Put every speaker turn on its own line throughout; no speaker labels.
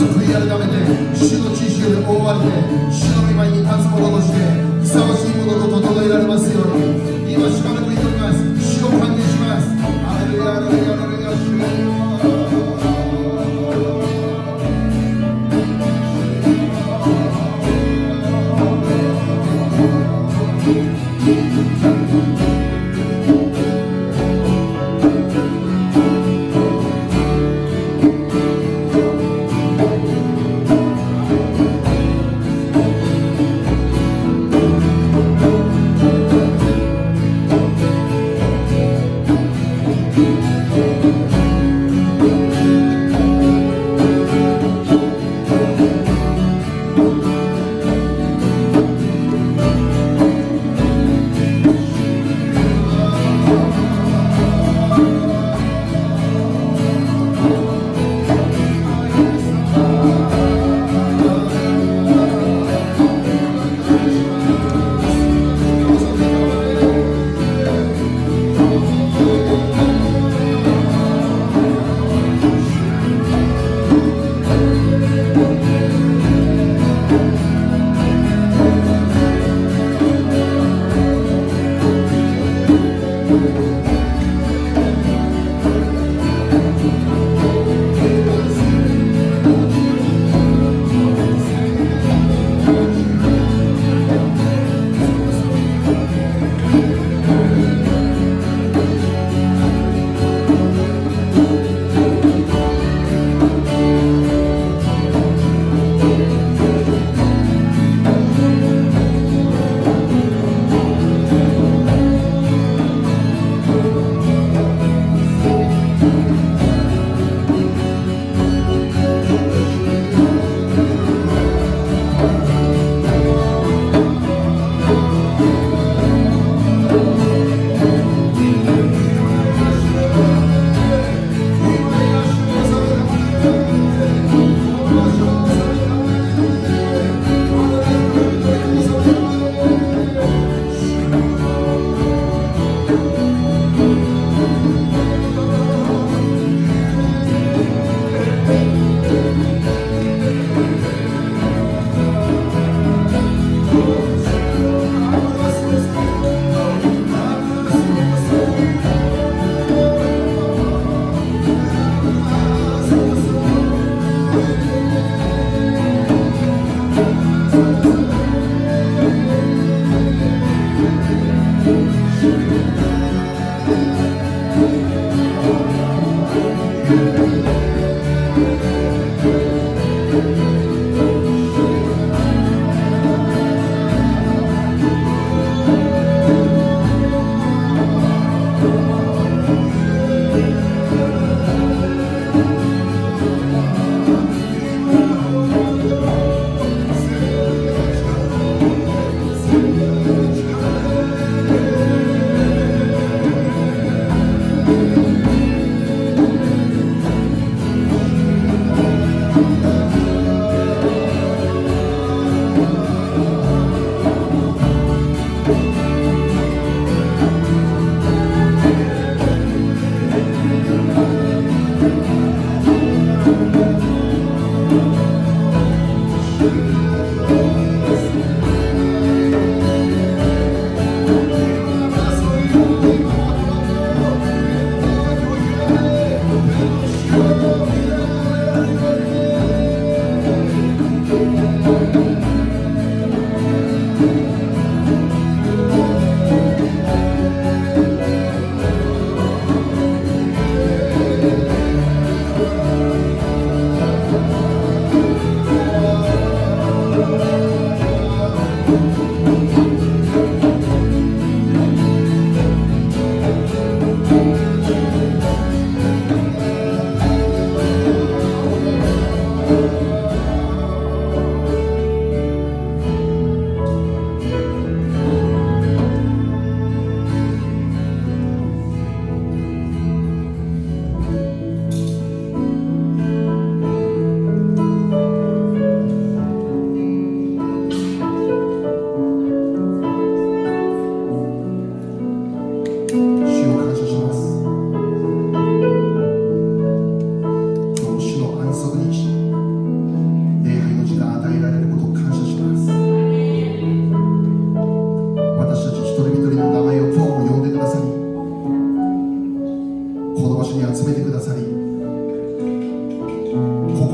悔い改めて主の知識で覆われて主の御前に立つ者としてふさわしいものと整えられますように今しばらく祈ります。主を歓迎します。ハレルヤハレルヤハレルヤ主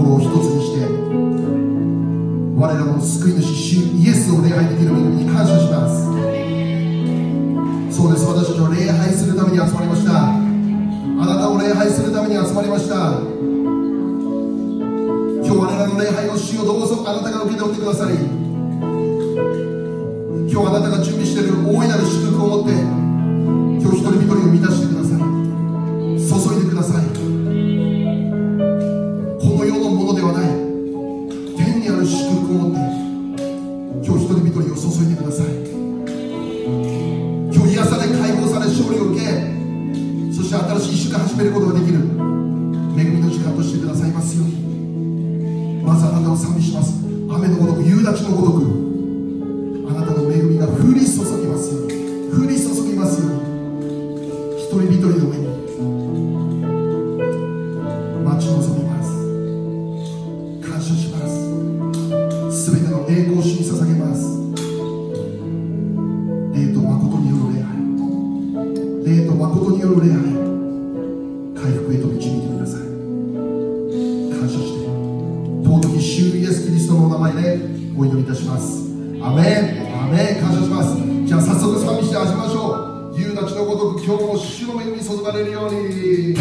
心を一つにして我らの救い主主イエスを礼拝できる恵みに感謝します。そうです、私たちは礼拝するために集まりました。あなたを礼拝するために集まりました。今日我らの礼拝の主をどうぞあなたが受け取ってください。今日あなたが準備している大いなる祝福を持って今日一人一人を満たしてください。注いでください。この世のものではない天にある祝福を持って今日一人一人を注いでください。今日癒され解放され勝利を受け、そして新しい一週間始めることができる恵みの時間としてくださいますように。まずあなたを賛美します。雨のごとく夕立のごとくあなたの恵みが降り注ぎますように、降り注ぎますように、一人一人の上に待ち望みます。感謝します。すべての栄光を主に捧げます。霊と誠による礼拝、霊と誠による礼拝、回復へと導いてください。感謝して尊き主イエスキリストのお名前でお祈りいたします。アメン、アメン。感謝します。じゃあ早速賛美して始めましょう。夕立のごとく今日も主の恵みに注がれるように。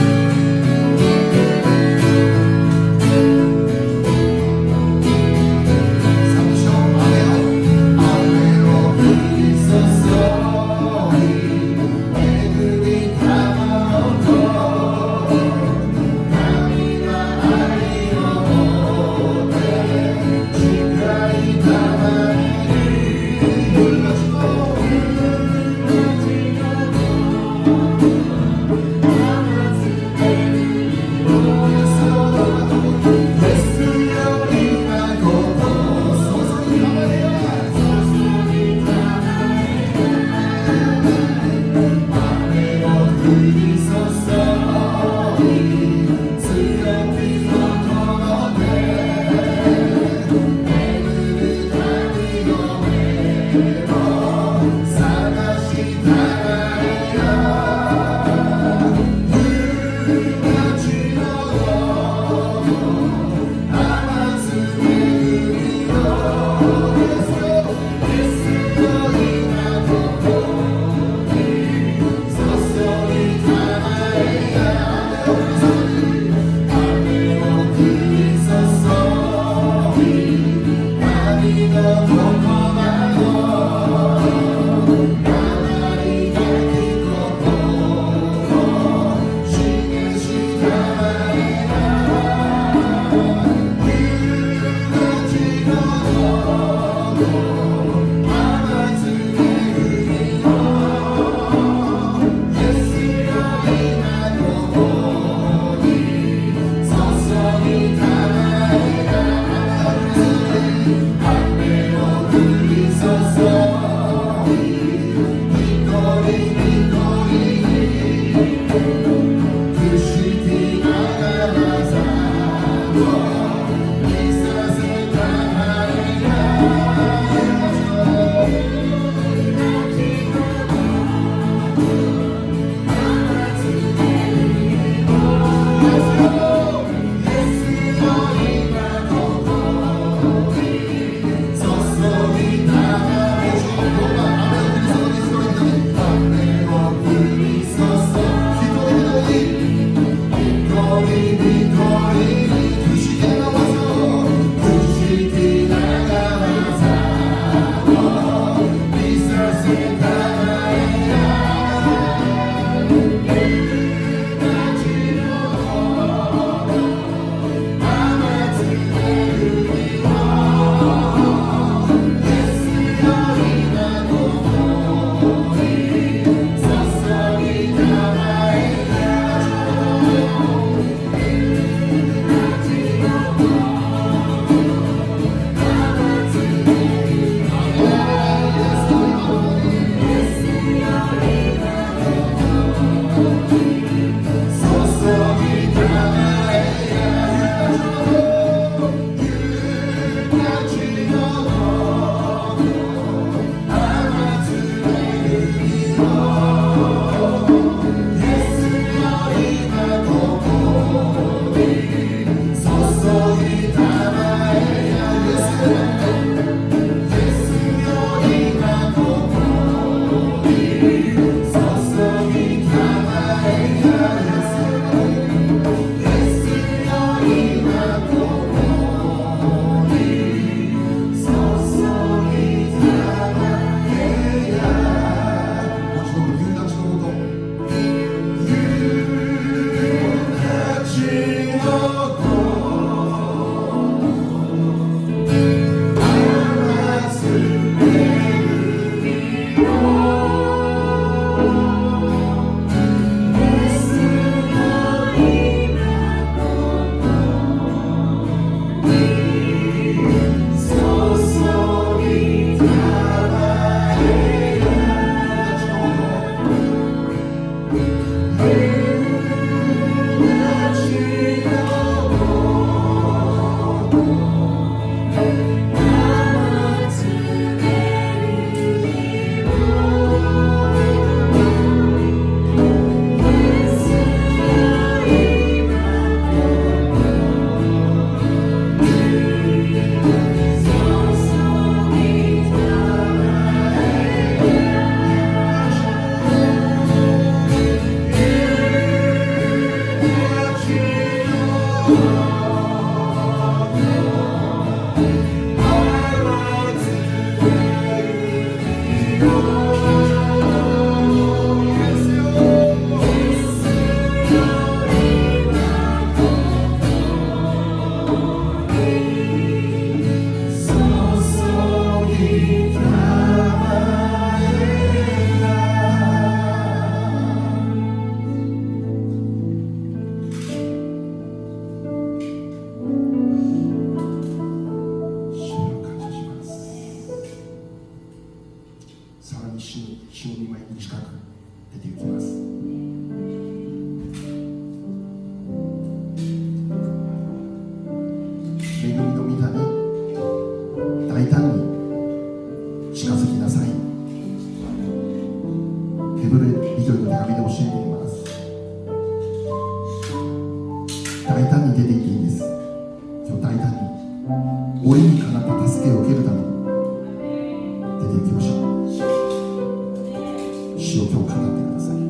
不思議恵みの御座に大胆に近づきなさい。ヘブル人への手紙で教えています。大胆に出て行っていいんです。今日大胆に折にかなった助けを受けるために出て行きましょう。主を今日語ってください。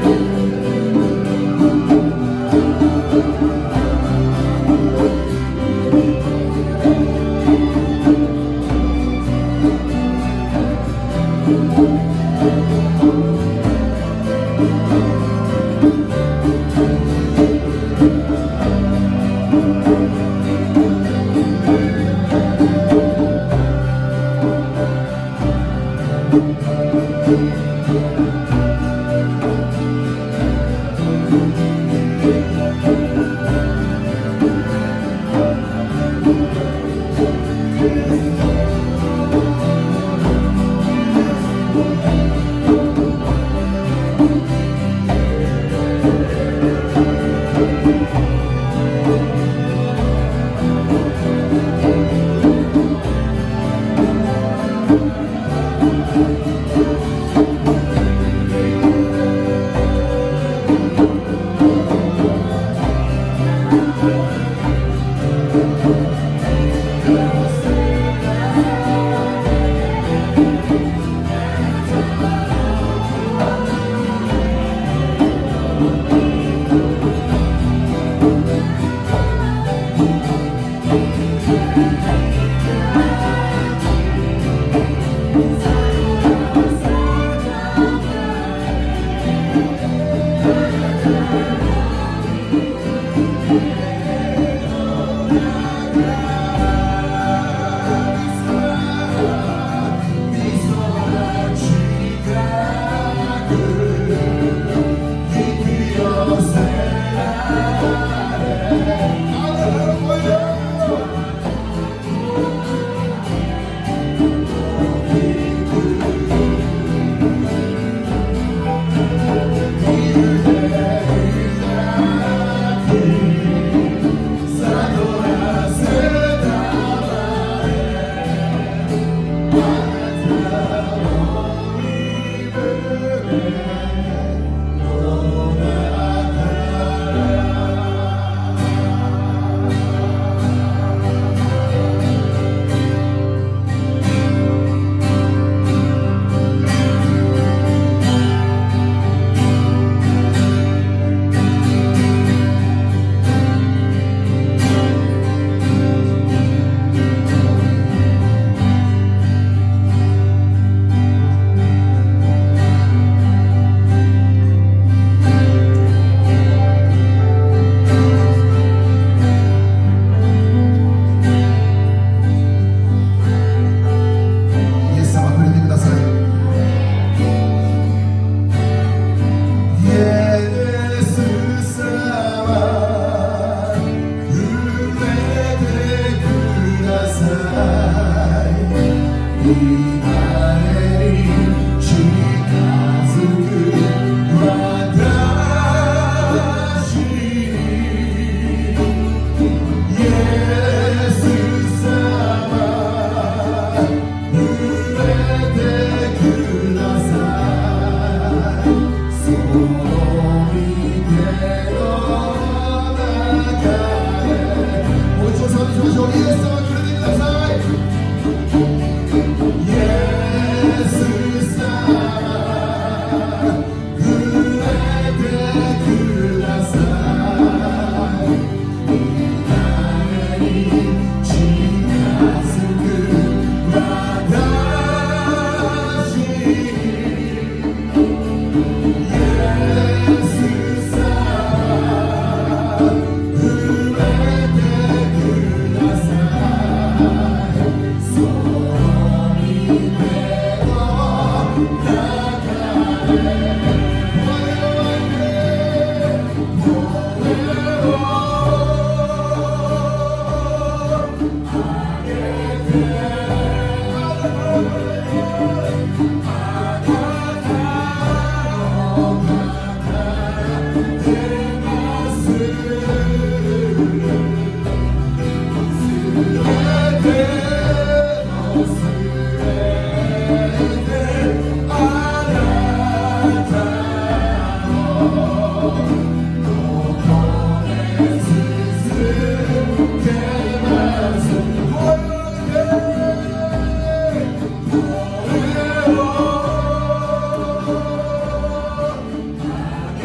「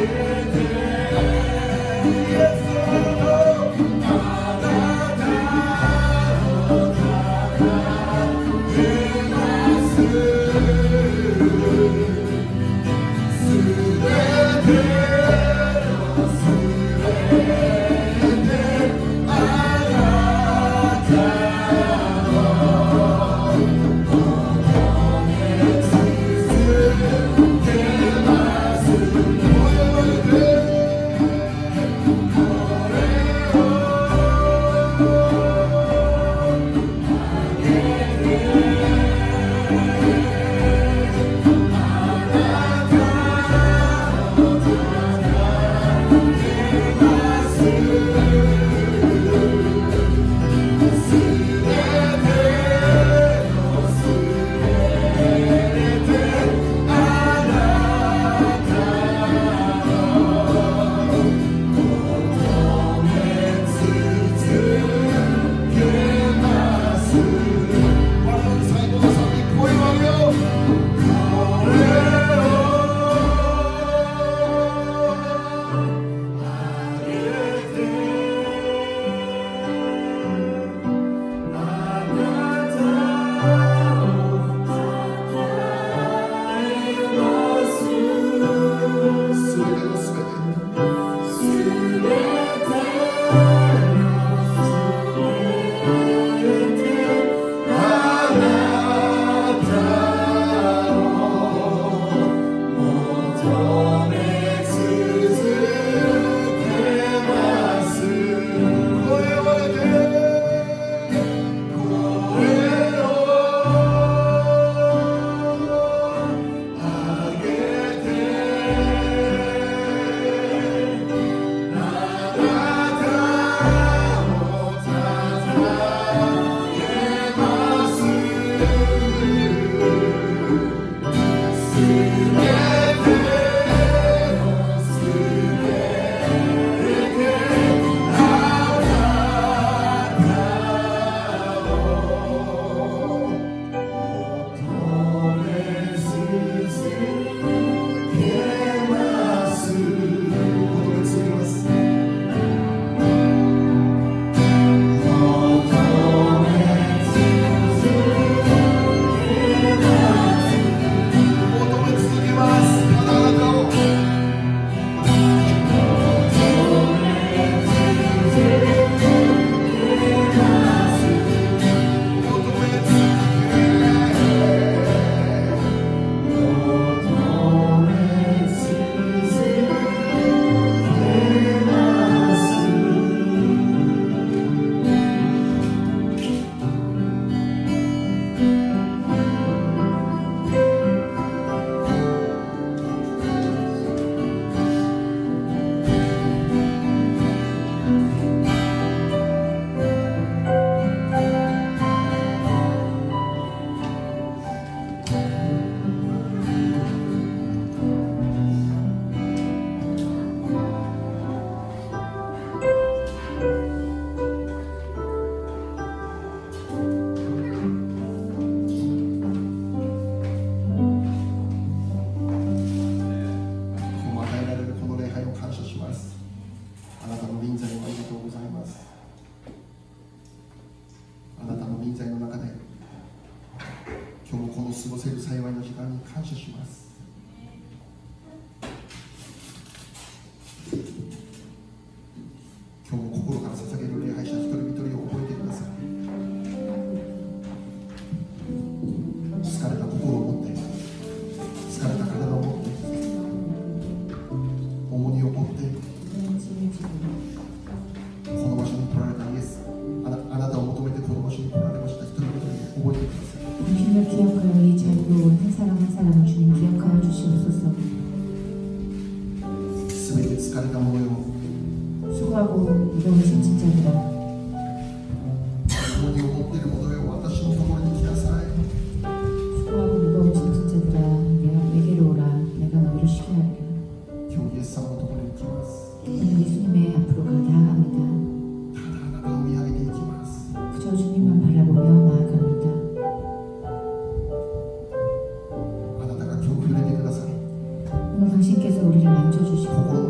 心께서 우리를 만져주시고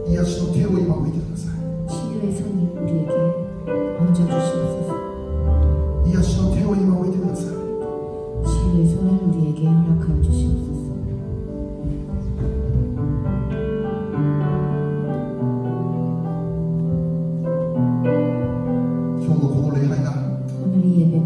癒しの手を今置いてください。
치유의 손을 우리에게 얹어 주시옵소서.
癒しの手を今置いてください。
치유의 손을 우리에게 허락하여 주시옵소서.
今日のこの礼拝が
오늘 이 예배가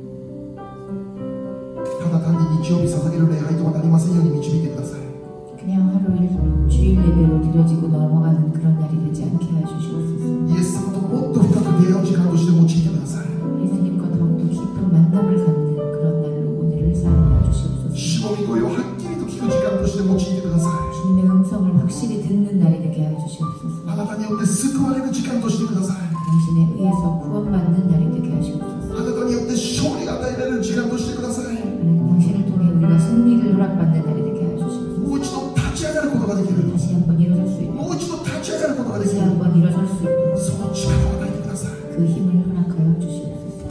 ただ単に日曜日捧げる礼拝とはなりませんように導いてください。
그냥 하루일 주일 예배로 드려지고 넘어가는 그런 날이 되지 않게 하여 주시옵소서.
イエス様ともっと深く出会う時間として用いてください。
예수님과 더욱더 깊은 만남을 갖는 그런 날로 오늘을 사용하여 주시옵소서.
主の御声をはっきりと聞く時間として用いてください。
주님의 음성을 확실히 듣는 날이 되게 하여 주시옵소서.
あなたによって救われる時間としてください。
당신에 의해서 구원받는 날이 되게 하시옵소서.
あなたによって勝利が与えられる時間としてください。
하나님 당신을 통해 우리가 승리를 허락받는 날이 되게 하여 주시옵소서.
もう一度立ち上がることができる。
다시 한번 일어설 수 있도록,
もう一度立ち上がることができ
다시
る。
한번 일어설 수 있도록
その力を与えてください。
그 힘을 허락하여 주시옵소서.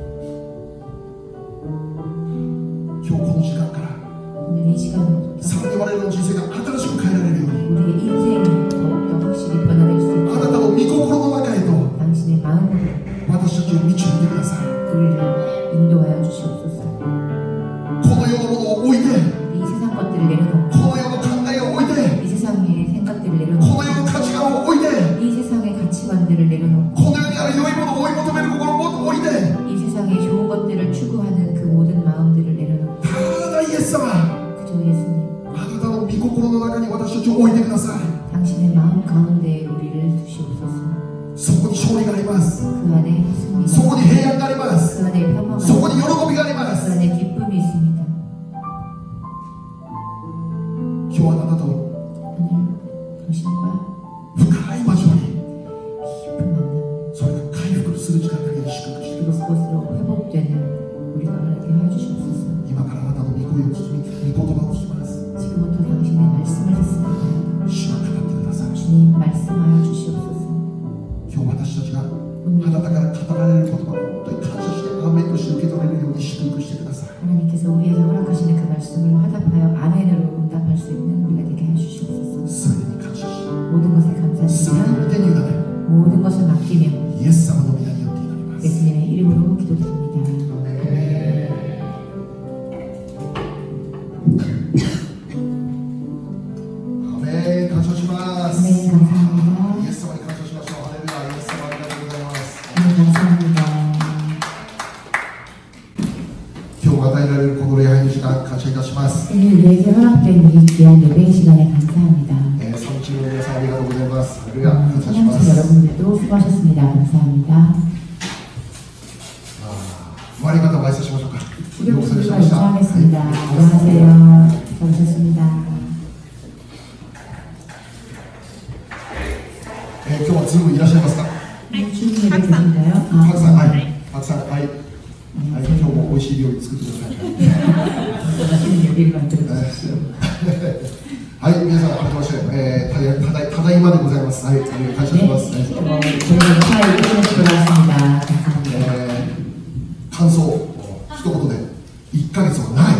今日この時間から
오늘 이 시간부터
さらに我々の人生が新しく変えられるように
우리의 인생이 더욱더 확실히 변화될 수
あな
있도록
たの御心の中へと
당신의 마음으로
私たちを導いてください。
우리를 인도하여 주시옵소서.
この世のものを置いて、
이 세상 것들을 내려놓고
この世の考えを置いて、
이 세상의 생각들을
こ
내려놓고
の世の価値観を置いて、
이 세상의 가치관들을 내려놓고
この世にある良いものを追い求める心を置いて、
이 세상의 좋은 것들을 추구하는 그 모든 마음들을 내려놓고
ただイエス様、
그저 예수님
あなたの御心の中に私たちを置いてください。
당신의 마음 가운데에 우리를 두시옵소서.
そこに勝利があります。
그 안에
そ
승리가
こに平安があります。
그 안에 평화가
そこに喜びがありま
그
す。
안에 기쁨이 있습니다.
今日あなたと
오늘 당신과
深い交わり、
깊은 만남
それが回復する時間だけに祝福してく
그리고
ださい。
그것으로 회복되는 우리가 되게 하여 주시옵소서.
今からあなたの御声を聞き、御言葉を聞きます。
지금부터 당신의 말씀을 듣습니다.
主は語ってください。
주님 말씀하여 주시옵소서.
今日私たちがあなたから語られる言葉を本当に感謝してアーメンとして受け取れるように祝福してください。
하나님께서 우리에게 허락하시는 그 말씀을 화답하여 아멘으로 응답할 수 있는 우리가 되게 해 주시옵소서.
すべてに感謝し、
모든 것에
すべて
감사드리며
の御手に委ね、
모든 것을 맡기며
イエス様の皆によって祈ります。
예수님의 이름으로 기도드립니다.
アメン、感謝します。
아멘. 감사합니다.
イエス様に感謝しましょう。ハレルヤ、イエス様ありがとうございます。
아멘. 감사합니다.
今日与えられるこの礼拝の時間、感謝いたします。
오늘 우리에게 허락된 이 귀한 예배 시간에 감사합니다.
サムチームの皆さんありがとうございます。ハレルヤ、感謝しま
사랑하는
す。
여러분들도 수고하셨습니다. 감사합니다.
終わり方を挨拶しましょうか。
우리
ようこそいらっしゃ
목소리가
いました。
인사하겠습니다.
はい
안녕하세요. 수고하셨습니다.
今日はズームいらっしゃいますか。
주님 예배 계신가요?
パクさん、はい。パクさん、はい。はい、今日も美味しい料理作ってください。
맛있는 요리를 만들어 주십시오.
はい、皆さん、改めまして、ただいまでございます。はい、感謝します。
저희는 사회 이전에서 돌아왔습니다. 감사합니다.
感想、一言で、1ヶ月はない。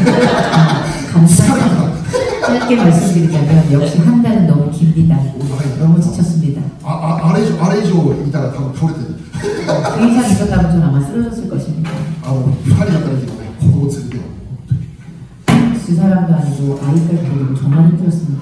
감사합니다. 짧게 말씀드리자면 역시 한 달은 너무 깁니다. 너무 지쳤습니다.
あれ以上いたら多分倒れてる。
그 이상 있었다면 저는 아마 쓰러졌을 것입니다.
2人だったらいいけどね、子供連れてよ。
두 사람도 아니고 아이까지 데리고 정말 힘들었습니다.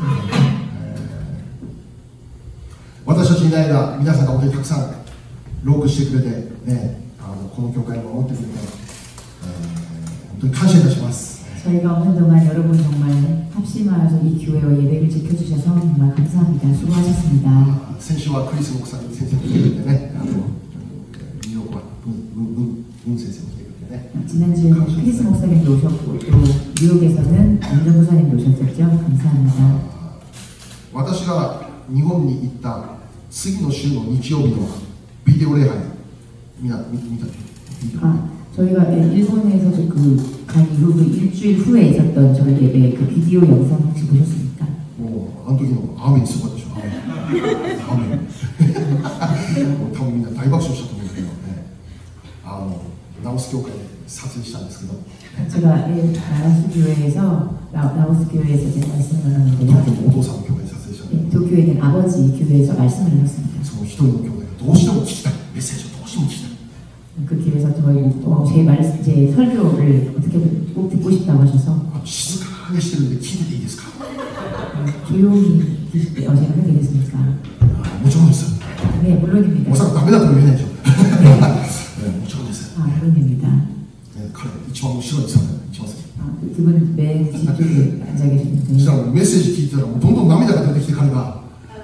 私たちいない間、皆さんが本当にたくさんロークしてくれて、ね、この教会を守ってくれて、本当に感謝いたします。
저희가 없는 동안 여러분 정말 합심하여서 이 교회와 예배를 지켜주셔서 정말 감사합니다. 수고하셨습니다.
先週はクリス牧さんに先生に来てくれてね、ニューヨークは文先生も来てくれてね。
지난주에는 크리스 목사님도 오셨고 또 뉴욕에서는 윤정 목사님도 오셨었죠. 감사합니다.
私が日本に行った次の週の日曜日のビデオ礼拝、見たビデオ。
저희가 일본에서 간 이후 그 일주일 후에 있었던 저희 예배 그 비디오 영상 혹시 보셨습니까?
もうあの時のアーメンすごかったでしょ。アーメン。もう多分みんな大爆笑したと思うんだけどね。ラオス教会で撮影したんですけど。
제가 라오스 교회에서 라오스 교회에서 제가 말씀을
多
나눴는데요.
分お父さんの教会で撮影したん
도쿄에 있는 아버지 교회에서 말씀을 하셨습니다.
その一人の兄弟がどうしても聞きたいメッセージをどうしても聞きたい
그 길에서 제 설교를 어떻게든 꼭 듣고 싶다고 하셔서
静かにしてるんで聞いてていいですか
조용히 제가 하게 됐습니까?
もちろんです
네, 물론입니다.
おそらくダメだとも言えないでしょもちろんです
아, 물론입니다.
彼一番後ろに座る一番先
그분은 맨 뒤쪽에 앉아
そ
계시는데
したらメッセージ聞いてたらもうどんどん涙が出てきて彼が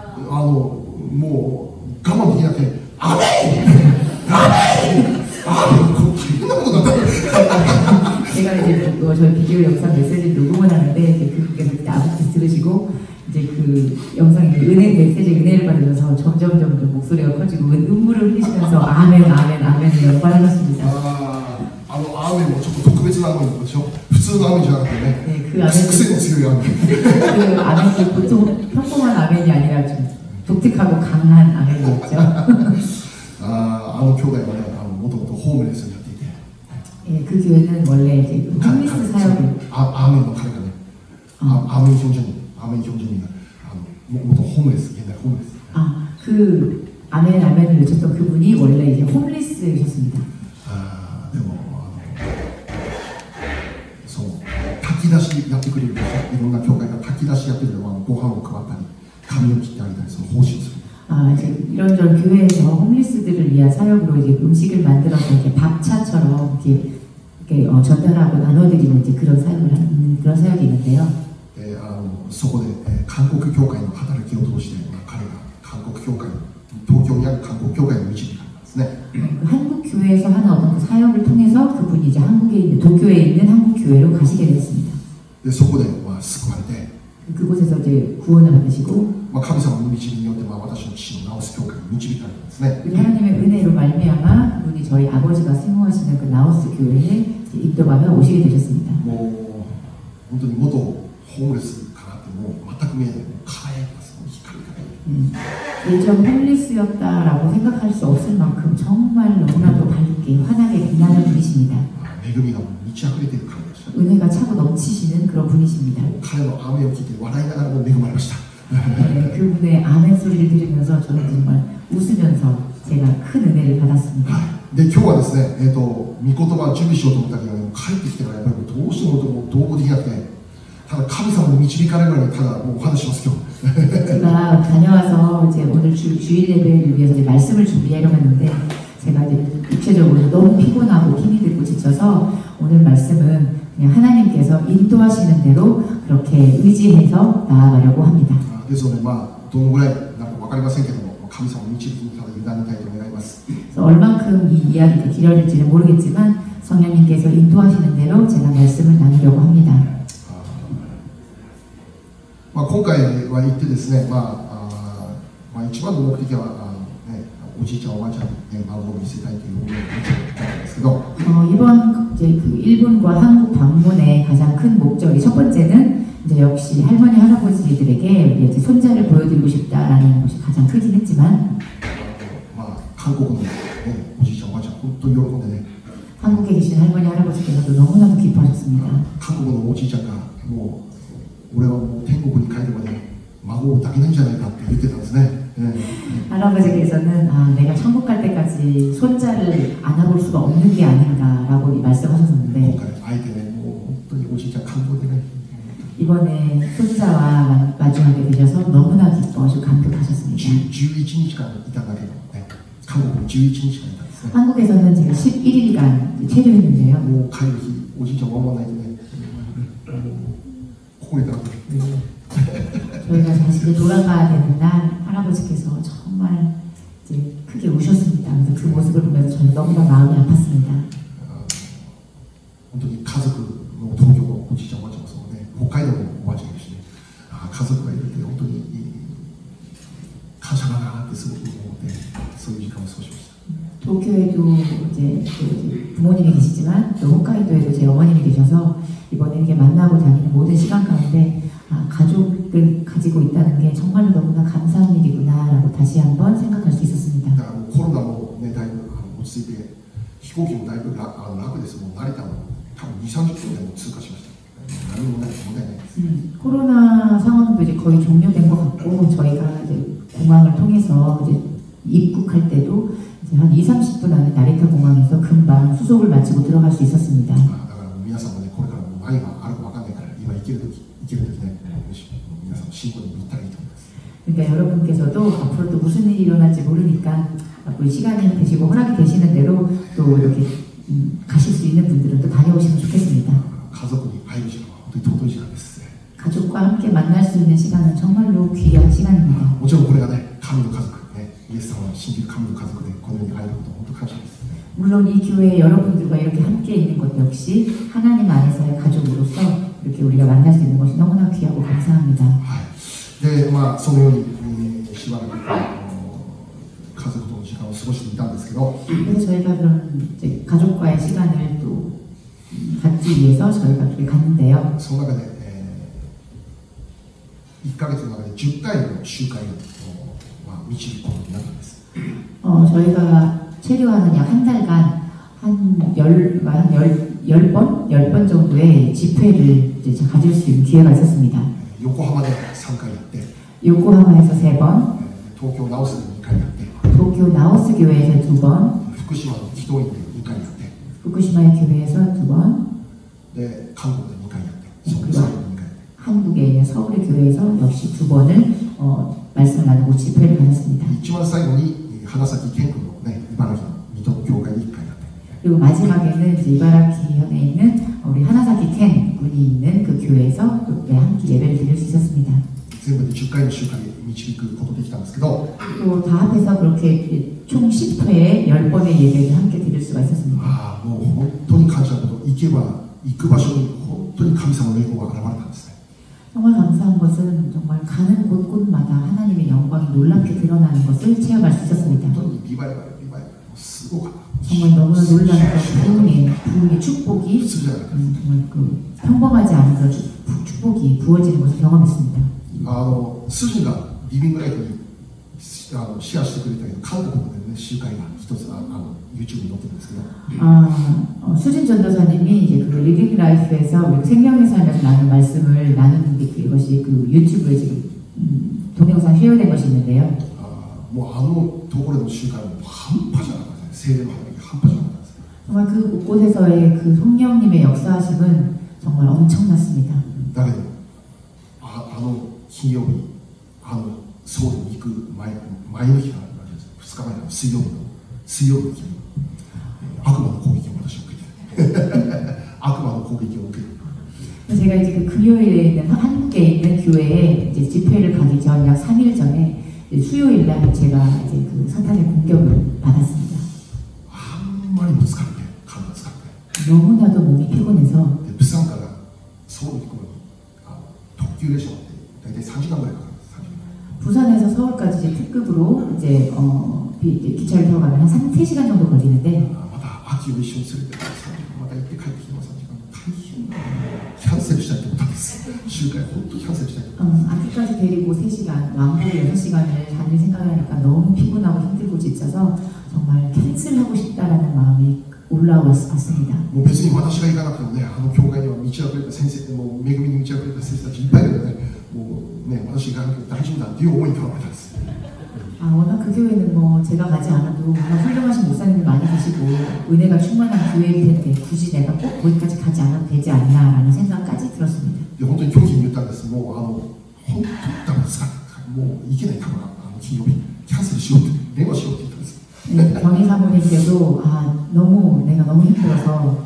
もう我慢できなくて「アメンアメンアメン」これ大変なことになった
제가 이제 저희 비디오 영상 메시지를 녹음을 하는데 이제 그분께서 그때 아버지 들으시고 이제 그 영상에 은혜를 받으면서 점점 목소리가 커지고 눈물을 흘리시면서 아멘 아멘 아멘을 연발하셨습니다.
アーメンもちょっと特別なアーメンでしょ普通のアーメンじゃなくてね
네, 그 아멘
癖の強いアーメン
그 아멘이 보통 평범한 아멘이 아니라 좀 독특하고 강한 아멘이었죠.
兄弟はねもともとホームレスになっていて
예, 그 교회는 원래 이제 홈리스 사역을
アーメンの彼がねアーメン형제님元ホームレス現代ホームレス
그 아멘을 외쳤던 그분이 원래 이제 홈리스이셨습니다.
でもそう炊き出しやってくれるでしょいろんな教会が炊き出しやってるのはご飯を配ったり髪を切ってあげたりその奉仕をする
이제 이런저런 교회에서 홈리스들을 위한 사역으로 이제 음식을 만들어서 이렇게 밥차처럼 이렇게 전달하고 나눠드리는 이제 그런 사역이 있는데요.
そこで韓国教会の働きを通して彼が韓国教会東京にある韓国教会に導かれたんですね。
한국 교회에서 하는 어떤 그 사역을 통해서 그분이 이제 한국에 있는 도쿄에 있는 한국 교회로 가시게 됐습니다.
でそこで救われて
그곳에서 이제 구원을 받으시고
神様の導きによって私の父の直す教会に導かれたんですね。
하나님의 은혜로 말미암아 그분이 저희 아버지가 사모하시는 그 나우스 교회에 인도받아 오시게 되셨습니다.
もう本当に元ホームレスかなってもう全く見えない輝いてます光り輝いて
예전 홈리스였다라고 생각할 수 없을 만큼 정말 너무나도 밝게 환하게 빛나는 분이십니다.
恵みが満ち溢れている感じでした。
은혜가 차고 넘치시는 그런 분이십니다.
彼の雨を聞いて笑いながらも恵まれました。
그분의 아멘 소리를 들으면서 저는 정말 웃으면서 제가 큰 은혜를 받았습니다.
で今日はですね、御言葉を準備しようと思ったけど帰ってきてからやっぱりどうしても同行できなくてただ神様に導かれるようにただもうお話します今日。
제가 다녀와서 이제 오늘 주일 예배를 위해서 이제 말씀을 준비하려고 했는데 제가 이제 육체적으로 너무 피곤하고 힘이 들고 지쳐서 오늘 말씀은 그냥 하나님께서 인도하시는 대로 그렇게 의지해서 나아가려고 합니다.
ですのでどのぐらいなんか分かりませんけども神様の導きにただ委ねたいと願います。
그래서 얼만큼 이 이야기가 길어질지는 모르겠지만 성령님께서 인도하시는 대로 제가 말씀을 나누려고 합니다.
今回は行ってですね、一番の目的はおじいちゃんおばあちゃんに孫を見せたいという思いを持っていたんですけど
이번 이제 그 일본과 한국 방문의 가장 큰 목적이 첫 번째는 이제 역시 할머니 할아버지들에게 이제 손자를 보여드리고 싶다라는 것이 가장 크긴 했지만
韓国の、おじいちゃんおばあちゃん本当に喜んでね
한국에 계신 할머니 할아버지께서도 너무나도 기뻐하셨습니다.
韓国のおじいちゃんがもう俺はもう天国に帰るまで孫を抱けないんじゃないかって言ってたんですね。
할아버지께서는 내가 천국 갈 때까지 손자를 안아볼 수가 없는 게 아닌가라고 말씀하셨는데
今回あえてねもう本当におじいちゃん感動でね
이번에 손자와 마주하게 되셔서 너무나 기뻐하시고 감격하셨습니다.
11日間いただけのね韓国に11日間いたんですね。
한국에서는 지금 11일간 체류했는데요.
もう帰る日おじいちゃんを守らないとねここにいたら
저희가 다시 돌아가야 되는 날 할아버지께서 정말 이제 크게 우셨습니다. 그래서 그 모습을 보면서 저는 너무나 마음이 아팠습니다.
本当に家族の東京のおじいちゃんおばあちゃんもそうね北海道のおばあちゃんいるしね家族がいるって本当に感謝だなってすごく思ってそういう時間を過ごしました。
도쿄에도 이제 그 부모님이 계시지만 또 홋카이도에도 제 어머님이 계셔서 이번에 이렇게 만나고 다니는 모든 시간 가운데 가족을 가지고 있다는 게 정말로 너무나 감사한 일이구나라고 다시 한번 생각할 수 있었습니다.
だからもうコロナもねだいぶ落ち着いて飛行機もだいぶ楽です。もう成田も多分2、30分でも通過しました。 何も問題ないです。
코로나 상황도 이제 거의 종료된 것 같고 저희가 이제 공항을 통해서 이제 입국할 때도 이제 한 2~30분 안에 나리타 공항에서 금방 수속을 마치고 들어갈 수 있었습니다.
だから皆さんもね、これからも何があるか分かんないから、今行けるときね、皆さんも信仰に行ったらいいと思います。
그러니까 여러분께서도 앞으로 또 무슨 일이 일어날지 모르니까 앞으로 시간이 되시고 허락이 되시는 대로 또 이렇게 가실 수 있는 분들은 또 다녀오시면 좋겠습니다.
家族に会える時間は本当に尊い時間です。
가족과 함께 만날 수 있는 시간은 정말로 귀한 시간입니다.
もちろんこれがね、神の家族、ね、イエス様を信じる神の家族でこのように会えることは本当に感謝です。
물론 이 교회에 여러분들과 이렇게 함께 있는 것 역시 하나님 안에서의 가족으로서 이렇게 우리가 만날 수 있는 것이 너무나 귀하고 감사합니다.
はい。で、まあそのように、しばらく家族との時間を過ごしていたんですけど、
그래서 저희가 그런 이제 가족과의 시간을 또 갖기 위해서 저희가 그렇게 갔는데요.
その中で、1ヶ月の中で10回の集会を、導くことになったんです。
저희가 체류하는 약 한 달간 한 10번 정도의 집회를 이제 가질 수 있는 기회가 있었습니다.
横浜で3回やって、
요코하마에서 3번,
東京直須で2回やって、
도쿄 나오스 교회에서 2번,
福島の祈祷院で2回やって、
후쿠시마의 교회에서 2번,
で韓国で2回やって、その最後に2回やって、
한국에 있는 서울의 교회에서 역시 2번을 말씀을 나누고 집회를 가졌습니다.
一番最後に花咲健区のね、茨城の水戸の教会に1回やって、
그리고 마지막에는 이제 이바라키현에 있는 우리 하나사키 켄 군이 있는 그 교회에서 또 함께 예배를 드릴 수 있었습니다.
全部で10回の集会に導くことできたんですけど、
또 다 합해서 그렇게 총 10회에 10번의 예배를 함께 드릴 수가 있었습니다.
もう本当に感謝なこと、行けば行く場所に本当に神様の栄光が現れたんですね。
정말 감사한 것은 정말 가는 곳곳마다 하나님의 영광이 놀랍게 드러나는 것을 체험할 수 있었습니다.
本当にリバイバル、すごかった。
정말 너무나 놀라운 부흥의 축복이
普通じゃない。
정말 그 평범하지 않은 그런 축복이 부어지는 것을 경험했습니다.
スジがリビングライフにシェアしてくれたけど、韓国の、ね、集会が一つYouTube に載ってるんですけど、
수진 전도사님이 이제 그 리빙 라이프에서 우리 생명의 삶에서 나눈 말씀을 나누는 게 그것이 그 유튜브에 지금 동영상 쉐어된 것이 있는데요.
もうところの集会は半端じゃなかったですね。聖霊の働きが半端じゃなかったです。
정말 그 곳곳에서의 그 성령님의 역사하심은 정말 엄청났습니다.
だけど金曜日ソウルに行く前の日があるんです。2日前の水曜日の日に悪魔の攻撃を私は受けて悪魔の攻撃を受ける。
제가 이제 그 금요일에 있는 한국에 있는 교회에 이제 집회를 가기 전 약 3일 전에 수요일 날 제가 이제 그 사탄의 공격을 받았습니다.
あんまりも疲れて体疲れて
너무나도 몸이 피곤해서
プサンからソウルに行くのに特急列車って大体3時間ぐらいかかるんです。
부산에서 서울까지 이제 특급으로 이제 기차를 타고 가면 한 3시간 정도 걸리는데
また秋を一緒に連れてまた行って帰ってきても3時間大変だ。キャンセルしたいと思ったんです。集会本当キャンセルしたい。
아기까지 데리고 3시간, 왕복 6시간을 다닐 생각을 하니까 너무 피곤하고 힘들고 지쳐서 정말 캔슬하고 싶다라는 마음이 올라왔습니다.
もう別に私が行かなくてもね、教会には満ち溢れた先生、もう恵みに満ち溢れた先生たちいっぱいいるので、もうね、私が行かなくて大丈夫だっていう思いに変わったんです。
워낙 그 교회는 뭐 제가 가지 않아도 워낙 훌륭하신 목사님들 많이 계시고 은혜가 충만한 교회일 텐데 굳이 내가 꼭 거기까지 가지 않아도 되지 않나라는 생각까지 들었습니다.
本当に拒否に言ったんです。もう本当にダメですか。もう行けないかも金曜日キャンセルしようって電話しようって言ったんです。
경희 사모님께도 너무 내가 너무 힘들어서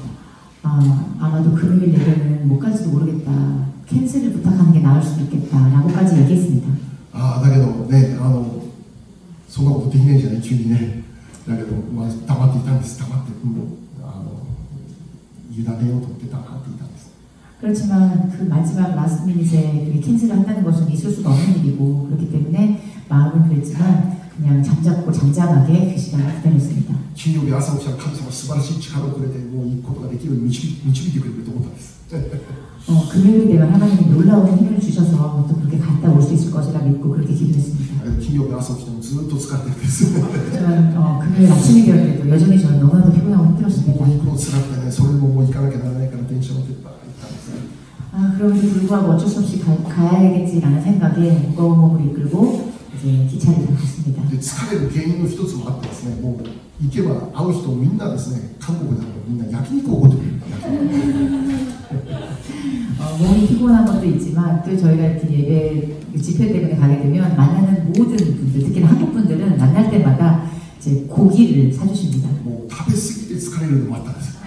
아마도 금요일 예배는 못 갈지도 모르겠다. 캔슬을 부탁하는 게 나을 수도 있겠다라고까지 얘기했습니다.
だけどね、そんなことできないじゃない急にね。だけど黙っていたんです。黙ってもう委ねようと思って黙っていたんです。
그렇지만 그 마지막 라스트 미닛에 그게 캔슬을 한다는 것은 있을 수가 없는 일이고 그렇기 때문에 마음은 그랬지만 그냥 잠잡고 잠잠하게 그 시간을 기다렸습니다.
金曜日朝起きたら神様素晴らしい力をくれてもう行くことができるように導いてくれると思ったんです。
금요일 되면 하나님이 놀라운 힘을 주셔서 또 그렇게 갔다 올 수 있을 것이라 믿고 그렇게 기도했습니다.
金曜日朝起きてもずっと疲れてるんです。
하지만 금요일 아침이 되었을 때도 여전히 저는 너무나도 피곤하고 힘들었습니다.
もう辛くてね、それももう行かなきゃならないから電車乗って行ったんです。
그럼에도 불구하고 어쩔 수 없이 가야겠지라는 생각에 무거운 몸을 이끌고 이제 기차를 탔습니다.
で疲れる原因の一つもあってですね、もう行けば会う人みんなですね、韓国でもみんな焼肉をおごってくれる。
몸이 피곤한 것도 있지만 또 저희가 이렇게 예배 집회 때문에 가게 되면 만나는 모든 분들, 특히나 한국 분들은 만날 때마다 이제 고기를 사주십니다.
もう食べ過ぎて疲れるのもあったんですよ。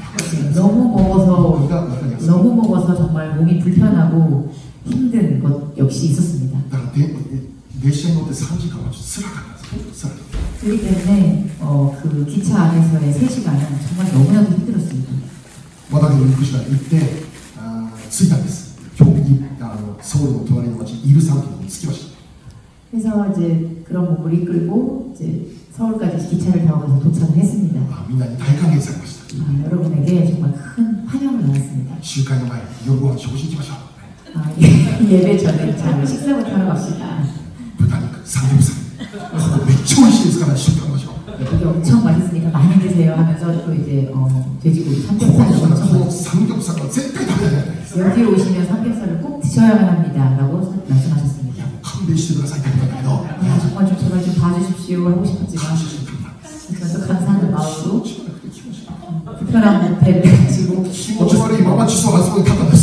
너무 먹어서 정말 몸이 불편하고 힘든 것 역시 있었습니다.
だから列車に乗って3時間はちょっと辛かったんです。本当辛かった。
그렇기 때문에 그 기차 안에서의 3시간은 정말 너무나도 힘들었습니다.
まだけど行くしか行って着いたんです。今日ソウルの隣の町イルサン県に着きました。
그래서 이제 그런 몸을 이끌고 이제 서울까지 기차를 타고 가서 도착을 했습니다.
みんなに大歓迎されました。
여러분에게 정말 큰 환영을 받았습니다.
集会の前、夜ご飯食事行きましょう。
예배 전에 잘 식사부터 하러 갑시다.
豚肉、サムギョプサル。めっちゃ美味しいですから一緒に食べましょう。
이게 엄청 맛있으니까 많이 드세요 하면서 또 이제 돼지고기 삼겹살을 엄청 맛있어요.
삼겹살은 絶対食べないです。
여기 오시면 삼겹살을 꼭 드셔야만 합니다라고 말씀하셨습니다.
勘弁してくださいって言ったんだけど、
정말 좀 제발 좀 봐주십시오 하고 싶었지만 그래서 감사하는 마음으로 불편한 배를 가지고
気持ち悪いまま窒素がそこに立ったんです。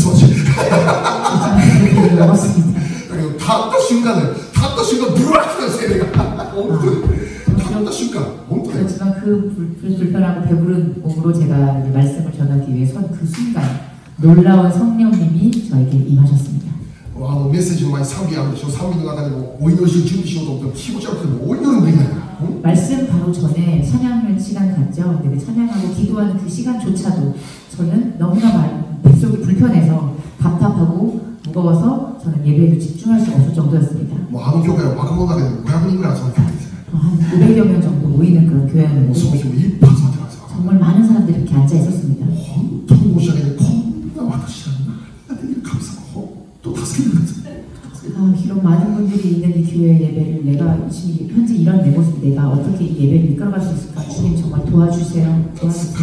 먹었습니다.
だけど立った瞬間ブワッと精霊が本当に立った瞬間本当に
그렇지만 그 불편하고 배부른 몸으로 제가 이제 말씀을 전하기 위해 선 그 순간 놀라운 성령님이 저에게 임하셨습니다.
メッセージの前に賛美あるでしょ。賛美の中でもお祈りして準備しようと思っても気持ち悪くてもお祈りもできないから。
말씀 바로 전에 찬양을 시간 갖죠. 근데 찬양하고 기도하는 그 시간조차도 저는 너무나 뱃속이 불편해서 답답하고 무거워서 저는 예배에도 집중할 수 없을 정도였습니다.
もうあの教会は若者だけでも500人ぐらい集まる教会ですね。
한 500여 명 정도 모이는 그런 교회였는데
その日もいっぱい集まってたんですよ。
정말 많은 사람들이 이렇게 앉아 있었습니다.
本当に申し訳ない。こんな私が何ができる神様本当助けてください。
이런 많은 분들이 있는 이 교회 예배를 내가 지금 현재 이런 내 모습 내가 어떻게 이 예배를 이끌어갈 수 있을까? 주님 정말 도와주세요.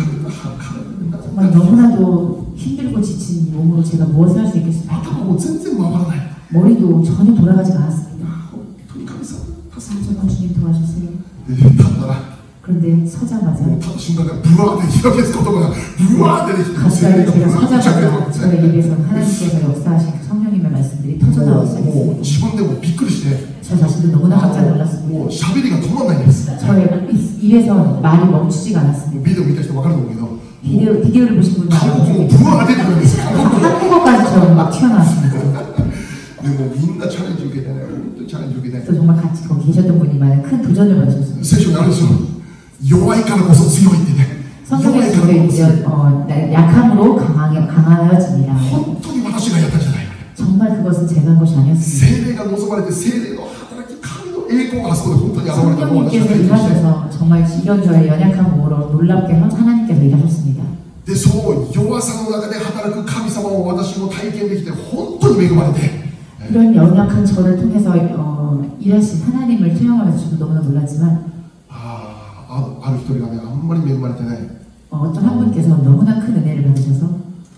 정말 너무나도 힘들고 지친 몸으로 제가 무엇을 할 수 있겠습니까?
頭も全然回らない。
머리도 전혀 돌아가지가 않았습니다.
本当に神様助けて
정말 주님 도와주세요.
立ったら
그런데 서자마자
立った瞬間からブワーって開けつ言葉がブワーって出てきて
갑자기 제가 서자마자 저의 입에서 하나님께서 역사하신 그 성령님의 말씀들이 터져나오기
もう
시작했습니다.
自分でもびっくりして
저 자신도 너무나 깜짝 놀랐습니다.
もう喋りが止まらないんです。
저의 입에서 말이 멈추지가 않았습니다.
ビデオ見た人分かると思うけど
비디오를 보신 분은
韓国もブワー出てくるんですよ。
한국어까지 저는 막 튀어나왔습니다.
でもみんなチャレンジ受けてね、本当にチャレンジ受けて
또 정말 같이 거기 계셨던 분이만 큰 도전을 받으셨습니다.
聖書にあるんですよ。弱いからこそ強いってね。弱い
성경에서
からこそ
약함으로 강하여지니라.
本当に私がやったんじゃない。
정말 그것은 제가 한 것이 아니었습니다.
聖霊が望まれて聖霊の働き、神の栄光があそこで本当に現れたのを私は
성령님께서
体験して
일하셔서 정말 이런 저의 연약한 몸으로 놀랍게 하나님께서 일하셨습니다.
で、その弱さの中で働く神様を私も体験できて本当に恵まれて
이런 연약한 저를 통해서 일하신 하나님을 체험하면서 저도 너무나 놀랐지만
ある一人がね、あんまり恵まれてね
어떤 한 분께서 너무나 큰 은혜를 받으셔서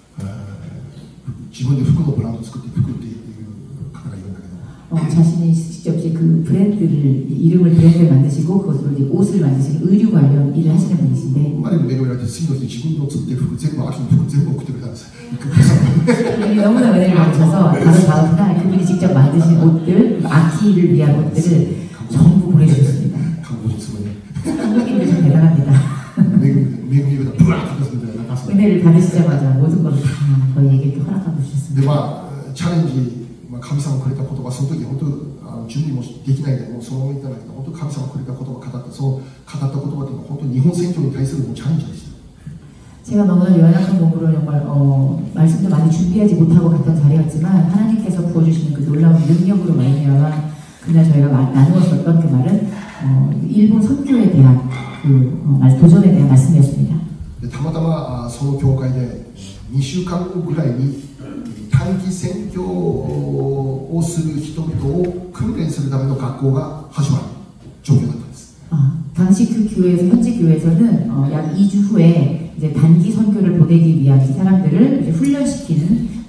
自分で服のブランドを作って服っていう方がいるんだけど
자신이 직접 이제 그 이름을 브랜드를 만드시고 그것으로 이제 옷을 만드시는 의류 관련 일을 하시는 분이신데
あまりに恵まれて次の日自分の作ってる服全部秋の服全部送ってくれたんですよ。
그분이 너무나 은혜를 받으셔서 바로 다음 날 그분이 직접 만드신 옷들, 악기를 위한 옷들을 전부 보내주셨습니다.
韓国人すごいね。
한국인들 참 대단합니다.
恵みがブワーッと出すみたいななんかそう
은혜를 받으시자마자 모든 것을 다 저희에게 허락하고
で
주셨습니다.
チャレンジ、神様くれた言葉、その時本当準備もできないでもうそのまま言ったんだけど、本当神様くれた言葉を語って、その語った言葉というのは本当に日本選挙に対するチャレンジでした。
제가 너무나 연약한 몸으로 정말 말씀도 많이 준비하지 못하고 갔던 자리였지만 하나님께서 부어주시는 그 놀라운 능력으로 말미암아 그날 저희가 나누었었던 그 말은 일본 선교에 대한 그 도전에 대한 말씀이었습니다.
たまたまその教会で2週間後ぐらいに短期選挙をする人々を訓練するための学校が始まる状況だったんです。
당시 그 교회에서 현지 교회에서는 약 2주 후에 이제 단기 선교를 보내기 위한 이 사람들을 이제 훈련시키는 그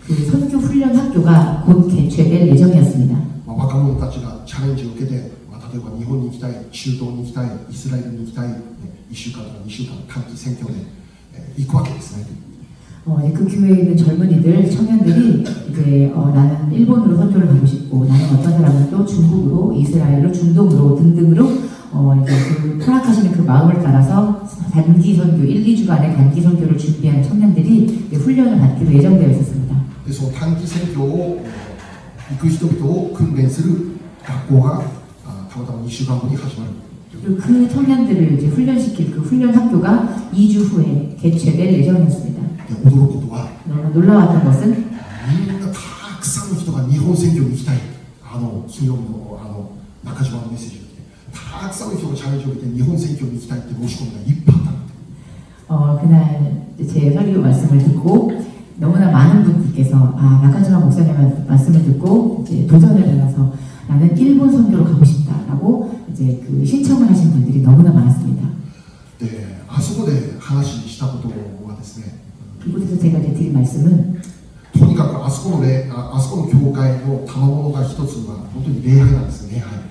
그 선교 훈련 학교가 곧 개최될 예정이었습니다.
若者たちがチャレンジを受けて、例えば日本に行きたい、中東に行きたい、イスラエルに行きたい、1週間とか2週間短期選挙で、行くわけですね。
이제 그 교회에 있는 젊은이들, 청년들이 이제 나는 일본으로 선교를 가고 싶고, 나는 어떤 사람은 또 중국으로, 이스라엘로, 중동으로 등등으로 이제 그 허락하시는 그 마음을 따라서 단기 선교, 1, 2주간의 단기 선교를 준비한 청년들이 훈련을 받기로 예정되어 있었습니다.
でその短期選挙を行く人々を訓練する学校がたまたま2週間後に始まる。
그리고 그 청년들을 이제 훈련시킬 그 훈련 학교가 2주 후에 개최될 예정이었습니다.
驚くことは
놀라웠던 것은
みんなたくさんの人が日本選挙に行きたい、金曜日の中島のメッセージを聞いて、たくさんの人がチャレンジを受けて日本選挙に行きたいって申し込みがいっぱいあった。
그날 제 설교 말씀을 듣고 너무나 많은 분들께서 나카지마 목사님의 말씀을 듣고 이제 도전을 받아서 나는 일본 선교로 가고 싶다라고 이제 그 신청을 하신 분들이 너무나 많았습니다.
で、あそこで話したことはですね、
이곳에서 제가 이제 드린 말씀은
とにかくあそこの教会の賜物が一つは本当に礼拝なんですね。礼拝。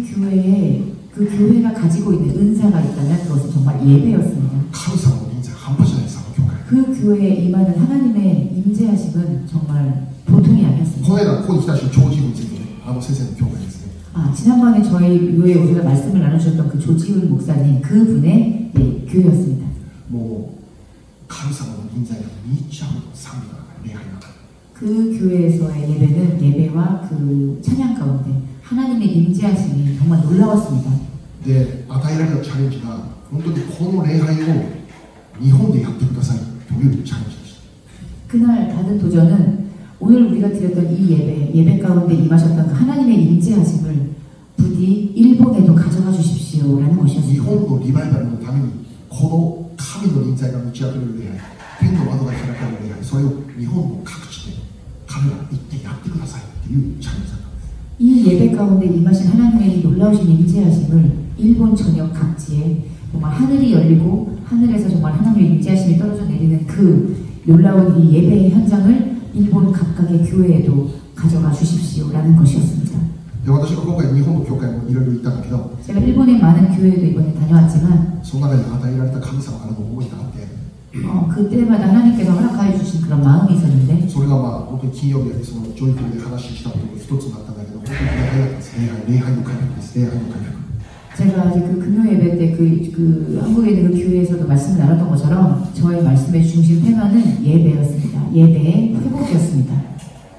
그 교회가 가지고 있는 은사가 있다면 그것은 정말 예배였습니다.
神様の臨在半端じゃないです、あの教会。
그 교회에 임하는 하나님의 임재하심은 정말 보통이 아니었습니다.
この間ここに来た人、長寿についてね、先生の教会ですね。
지난번에 저희 교회에 오셔서 말씀을 나누셨던 그 조지훈 목사님 그분의 교회였습니다.
もう神様の臨在が満ち溢れた賛美が礼拝が。
그 교회에서의 예배는 예배와 그 찬양 가운데 하나님의 임재하심이 정말 놀라웠습니다.
で、与えられたチャレンジが本当にこの礼拝を日本でやってくださいというチャレンジでした。
그날 받은 도전은 오늘 우리가 드렸던 이 예배 가운데 임하셨던 그 하나님의 임재하심을 부디 일본에도 가져가 주십시오라는
日
것이었습니다.
本のリバイバルのためにこの神の臨在が満ち溢れる礼拝、天の窓が開かれる礼拝、それを日本の各地で神が行ってやってくださいというチャレンジだった。
이 예배 가운데 임하신 하나님의 이 놀라우신 임재하심을 일본 전역 각지에 정말 하늘이 열리고 하늘에서 정말 하나님의 임재하심이 떨어져 내리는 그 놀라운 이 예배의 현장을 일본 각각의 교회에도 가져가 주십시오라는 것이었습니다.
で、私は今回日本の教会もいろいろ行ったんだけど、
제가 일본의 많은 교회도 이번에 다녀왔지만
その中に与えられた神様からの思いがあって、
그때마다 하나님께서 허락하여 주신 그런 마음이 있었는데
それが本当に金曜日やそのジョイフルで話したことが一つになったんだけど、本当に礼拝だったんです。礼拝の回復です。礼拝の回復。
제가 이제 그 금요 예배 때 그 한국에 있는 그 교회에서도 말씀을 나눴던 것처럼 저의 말씀의 중심 테마는 예배였습니다. 예배의 회복이었습니다.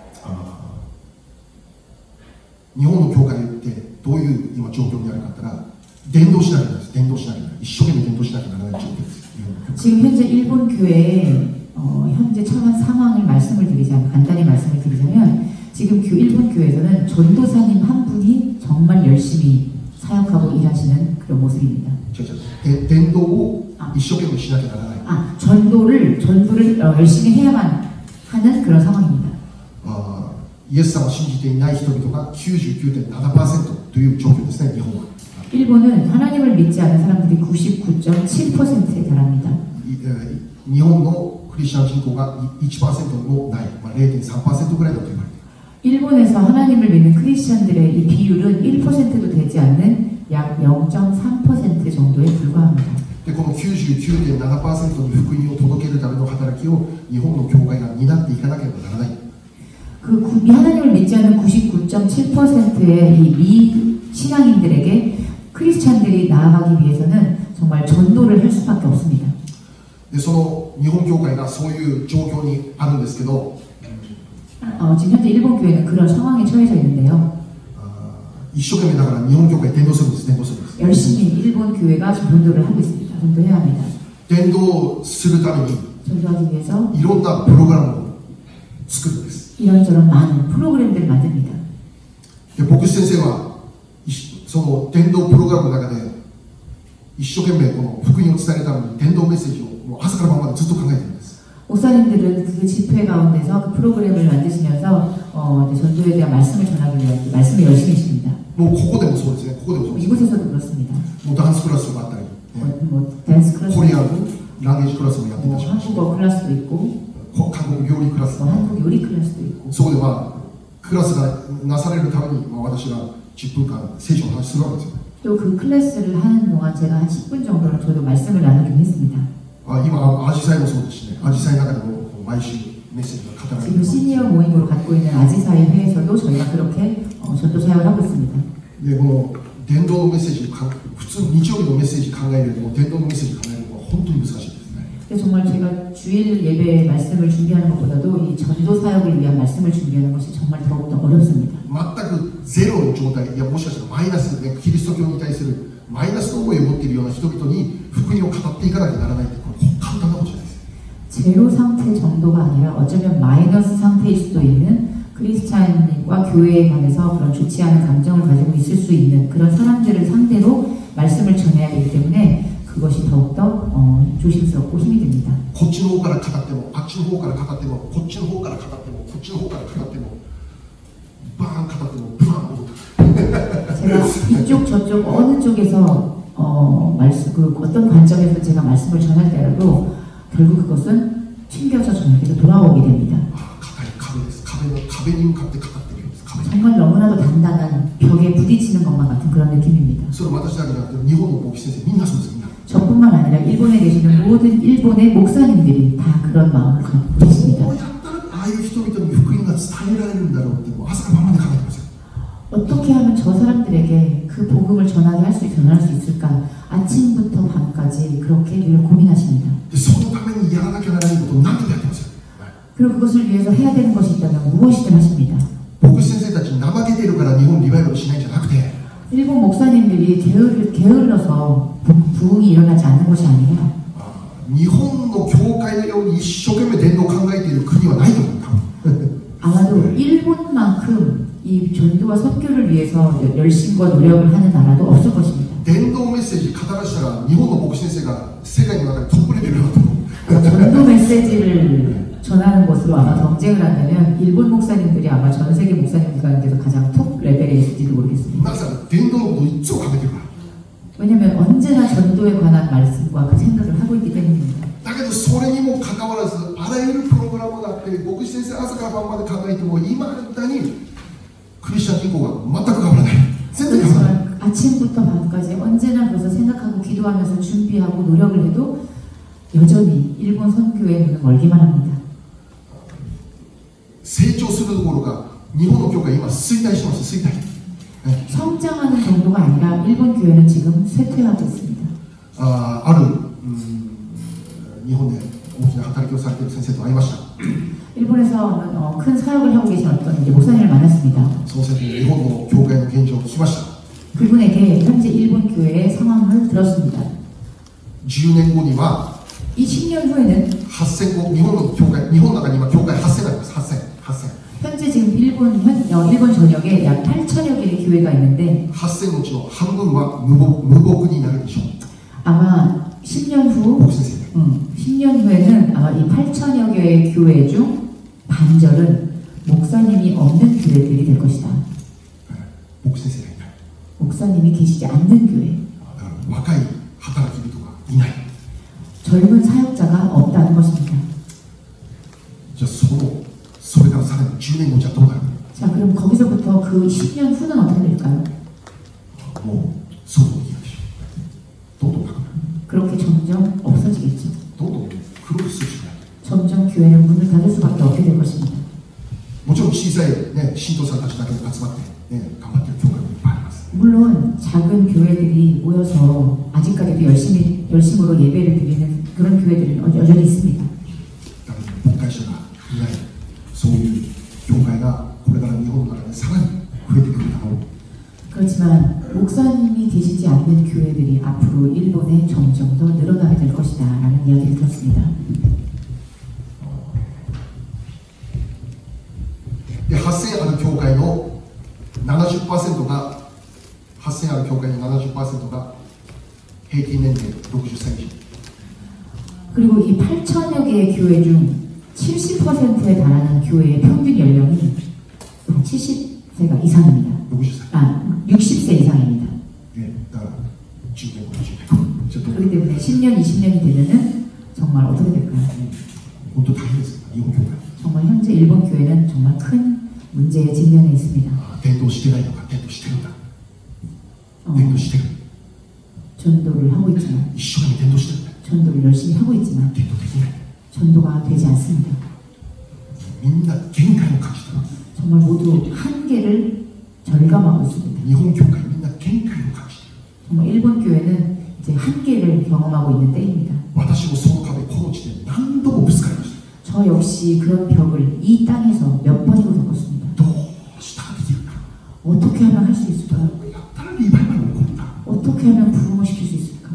日本の教会ってどういう今状況にあるかって言ったら、伝道しなきゃならないです。伝道しなきゃならない。一生懸命伝道しなきゃならない状況です。
지금 현재 일본 교회의 현재 처한 상황을 말씀을 드리자면 간단히 말씀을 드리자면 지금 일본 교회에서는 전도사님 한 분이 정말 열심히 사역하고 일하시는 그런 모습입니다.
伝道を一生懸命しなきゃならない。
전도를 열심히 해야만 하는 그런 상황입니다.
イエス様を信じていない人々が 99.7% という状況ですね、日本は。
일본은 하나님을 믿지 않는 사람들이 99.7%에 달합니다.
日本のクリスチャン人口が 1% もない、0.3% ぐらいだと言われている。
일본에서 하나님을 믿는 크리스천들의 이 비율은 1%도 되지 않는 약 0.3% 정도에 불과합니다.
で、この 99.7% に福音を届けるための働きを日本の教会が担っていかなければならない。
하나님을 믿지 않는 99.7%의 이 미신앙인들에게 크리스찬들이 나아가기 위해서는 정말 전도를 할 수밖에 없습니다.
で、その日本教会がそういう状況にあるんですけど、
지금 현재 일본 교회는 그런 상황에 처해져 있는데요.
一生懸命だから日本教会伝道するんです。伝道するんです。
열심히 일본 교회가 전도를 하고 있습니다. 전도해야 합니다.
伝道するために
전도하기 위해서
いろんなプログラムを作るんです。
이런저런 많은 프로그램들을 만듭니다.
で、牧師先生はその伝道プログラムの中で一生懸命この福音を伝えるために伝道メッセージをもう朝から晩までずっと考えているんです。
목사님들은 그 집회 가운데서 그 프로그램을 만드시면서 전도에 대한 말씀을 전하기 위한 말씀을 열심히 하십니다.
もうここでもそうですね。ここでもそうです。
이곳에서도 그렇습니다.
もうダンスクラスがあったり、
댄스 클래스,
コリアンランゲージクラスもやっていたし、
한국어 클래스도 있고,
韓国料理クラス
또 한국 요리 클래스도 있고
そこでクラスがなされるために、私が10分間聖書の話するわけですよね。
또 그 클래스를 하는 동안 제가 한 10분 정도는 저도 말씀을 나누긴 했습니다.
今、アジサイもそうですしね、アジサイの中でも毎週メッセージが語られてい
지금
ます。
시니어 모임으로 갖고 있는 아지사의 회에서도 저희가 그렇게 전도 사역을 하고 있습니다.
で、この伝道のメッセージ、普通日曜日のメッセージ考えるよりも伝道のメッセージ考えるのは本当に難しいですね。
근데 정말 제가 주일 예배 말씀을 준비하는 것보다도 이 전도 사역을 위한 말씀을 준비하는 것이 정말 더욱더 어렵습니다.
全くゼロの状態、いやもしかしたらマイナス、ね、キリスト教に対するマイナスの思いを持っているような人々に福音を語っていかなきゃならないって、これ簡単なことじゃないです。
제로 상태 정도가 아니라 어쩌면 마이너스 상태일 수도 있는 크리스찬과 교회에 관해서 그런 좋지 않은 감정을 가지고 있을 수 있는 그런 사람들을 상대로 말씀을 전해야 되기 때문에 그것이 더욱더 조심스럽고 힘이 듭니다.
こっちの方から語っても、あっちの方から語っても、こっちの方から語っても、こっちの方から語っても、バーン語っても、バーン戻って
제가 이쪽 저쪽 어느 쪽에서 말씀 어떤 관점에서 제가 말씀을 전할 때라도 결국 그것은 튕겨져 저에게로 돌아오게 됩니다.
硬い壁です。壁に向かって語っているんです。壁に
정말 너무나도 단단한 벽에 부딪히는 것만 같은 그런 느낌입니다.
それは私だけじゃなくて日本の牧師先生みんなそうです。みんな
저뿐만 아니라 일본에 계시는 모든 일본의 목사님들이 다 그런 마음을 갖고 계십니다.
どうやったらああいう人々に福音が伝えられるんだろうってもう朝から晩まで考えてますよ。
어떻게 하면 저 사람들에게 그 복음을 전할 수 있을까? 아침부터 밤까지 그렇게 늘 고민하십니다.
でそのためにやらなきゃならないことを何でもやってますよ。
그리고 그것을 위해서 해야 되는 것이 있다면 무엇이든 하십니다.
牧師先生たちに怠けているから日本リバイバルしないんじゃなくて
일본 목사님들이 게을러서 부흥이 일어나지 않는 것이 아니라
日本の教会のように一生懸命伝道を考えている国はないと思う。
아마도 일본만큼 이 전도와 선교를 위해서 열심과 노력을 하는 나라도 없을 것입니다.
伝道メッセージ語らしたら日本の牧師先生が世界の中でトップレベルだと思う。
전도 메시지를 전하는 것으로 아마 경쟁을 한다면 일본 목사님들이 아마 전 세계 목사님들 가운데서 가장 톱 레벨에 있을지도 모르겠습니다.
なぜなら伝道のことをいつも考えてるから。
왜냐하면 언제나 전도에 관한 말씀과 그 생각을 하고 있기 때문입니다.
だけどそれにもかかわらずあらゆるプログラムがあって牧師先生朝から晩まで考えても今だにクリスチャン人口が全く変わらない。全然変わらない。
그렇지만 아침부터 밤까지 언제나 그것을 생각하고 기도하면서 준비하고 노력을 해도 여전히 일본 선교의 문은 멀기만 합니다.
成長するどころか日本の教会今衰退してます。衰退。
성장하는 정도가 아니라 일본 교회는 지금 쇠퇴하고 있습니다.
ある日本で大きな働きをされている先生と会いました。
일본에서 큰 사역을 하고 계신 어떤 이제 목사님을 만났습니다.
その先生に日本の教会の現状を聞きました。
그분에게 현재 일본 교회의 상황을 들었습니다.
10年後には
이 10년 후에는
8000個日本の教会、日本の中に今教会8000あります。8000
현재 지금 일본 전역에 약 8천여 개의 교회가 있는데
8000のうちの半分は無牧になるでしょう。
아마 10년 후
牧師先生
10년 후에는 아마 이 8천여 개의 교회 중 반절은 목사님이 없는 교회들이 될 것이다.
牧師先生がいない。
목사님이 계시지 않는 교회.
だから若い働き人がいない。
젊은 사역자가 없다는 것입니다.
じゃあそれからさらに10年後じゃどうなるの？
자, 그럼 거기서부터 그 10년 후는 어떻게 될까요?
もうそうできないでしょ。どんどんなくなる。
그렇게 점점 없어지겠죠.
どんどんクロスするしかない。
점점 교회는 문을 닫을 수밖에 없게 될 것입니다.
もちろん小さい、ね、信徒さんたちだけで集まって、ね、頑張ってる教会もいっぱいあります。
물론 작은 교회들이 모여서 아직까지도 열심으로 예배를 드리는 그런 교회들은 여전히 있습니다.
だけど牧会者がいない、そういう教会がこれから日本の中でさらに増えてくるだろう。
그렇지만 목사님이 계시지 않는 교회들이 앞으로 일본에 점점 더 늘어나게 될 것이다 라는 이야기를 들었습니다.
で8000ある教会の 70% が8000ある教会の 70% が平均年齢60歳以上。
그리고 이 8천여 개의 교회 중 70%에 달하는 교회의 평균 연령이 70세가 이상입니다. 60세 이상입니다.
ね、だから10年後20年後ちょっと
그렇기 때문에 10년, 20년이 되면은 정말 어떻게 될까요?
本当大変です日本教会
정말 현재 일본 교회는 정말 큰 문제에 직면해 있습니다.
伝道してないのか伝道してるんだ
어,
伝道してる
전도를 하고 있지만
一生懸命伝道してるんだ
전도를 열심히 하고 있지만
伝道できない
전도가 되지 않습니다.
みんな限界を感じてる
정말 모두 한계를 절감하고 있습니다.
日本教会みんな限界を感じてる
정말 일본 교회는 이제 한계를 경험하고 있는 때입니다.
私もその壁この地で何度もぶつかりました
저 역시 그런 벽을 이 땅에서 몇 번이고 겪었습니다.
どうしたらできるか
어떻게 하면 할 수 있을까?
どうやったらリバイバルが起こるんだ
어떻게 하면 부흥을 시킬 수 있을까?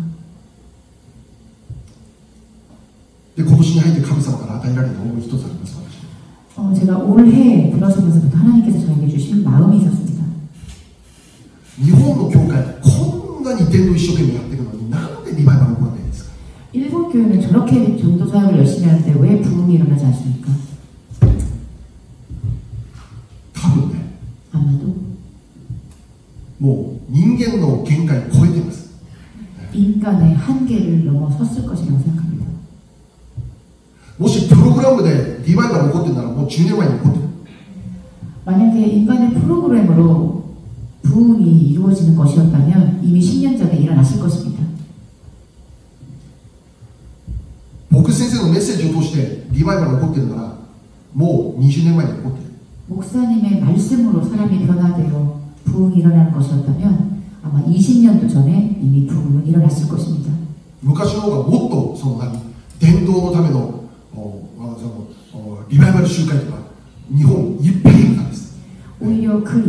で今年に入って神様から与えられた思い一つあります私
제가 올해 들어서면서부터 하나님께서 저에게 주신 마음이 있었습니다.
日本の教会こんなに伝道一生懸命やってるのになんでリバイバルが起こらないんですか
일본 교회는 저렇게 전도 사역을 열심히 하는데 왜 부흥이 일어나지 않습니까?
多分ね
아마도
もう人間の限界を超えています
인간의 한계를 넘어섰을 것이라고 생각합니다.
もしプログラムでリバイバル起こってるならもう10年前に起こってる
만약에 인간의 프로그램으로 부흥이 이루어지는 것이었다면 이미 10년 전에 일어났을 것입니다.
僕先生のメッセージを通してリバイバルが起こってるならもう20年前に起こってる
목사님의 말씀으로 사람이 변화되어 부흥이 일어나는 것이었다면 아마 20년도 전에 이미 부흥은 일어났을 것입니다.
昔の方がもっとその伝道のためのリバイバル集会とか日本いっぱいいたんです
오히려 그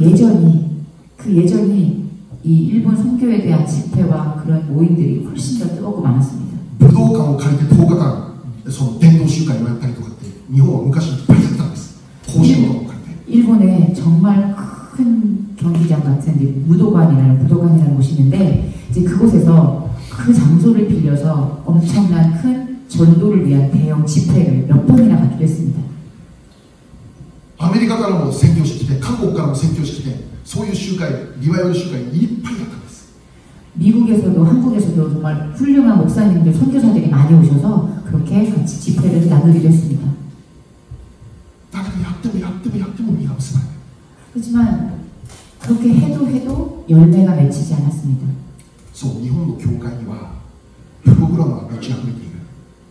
예전이 이 일본 선교에 대한 집회와 그런 모임들이 훨씬 더 뜨겁고 많았습니다.
武道館を借りて10日間その伝道集会をやったりとかって日本は昔いっぱいやってたんです甲子園を借りて
일본에 정말 큰 경기장 같은 부도관이라는 곳이 있는데 이제 그곳에서 그 장소를 빌려서 엄청난 큰 전도를 위한 대형 집회를 몇 번이나 갖기도 했습니다.
アメリカからも宣教してきて韓国からも宣教してきてそういう集会リバイバル集会いっぱいやったんです
미국에서도 한국에서도 정말 훌륭한 목사님들 선교사들이 많이 오셔서 그렇게 같이 집회를 나누기도 했습니다.
だけどやってもやってもやっても実が結ばれない
하지만 그렇게 해도 열매가 맺히지 않았습니다.
そう日本の教会にはプログラムが満ち溢れている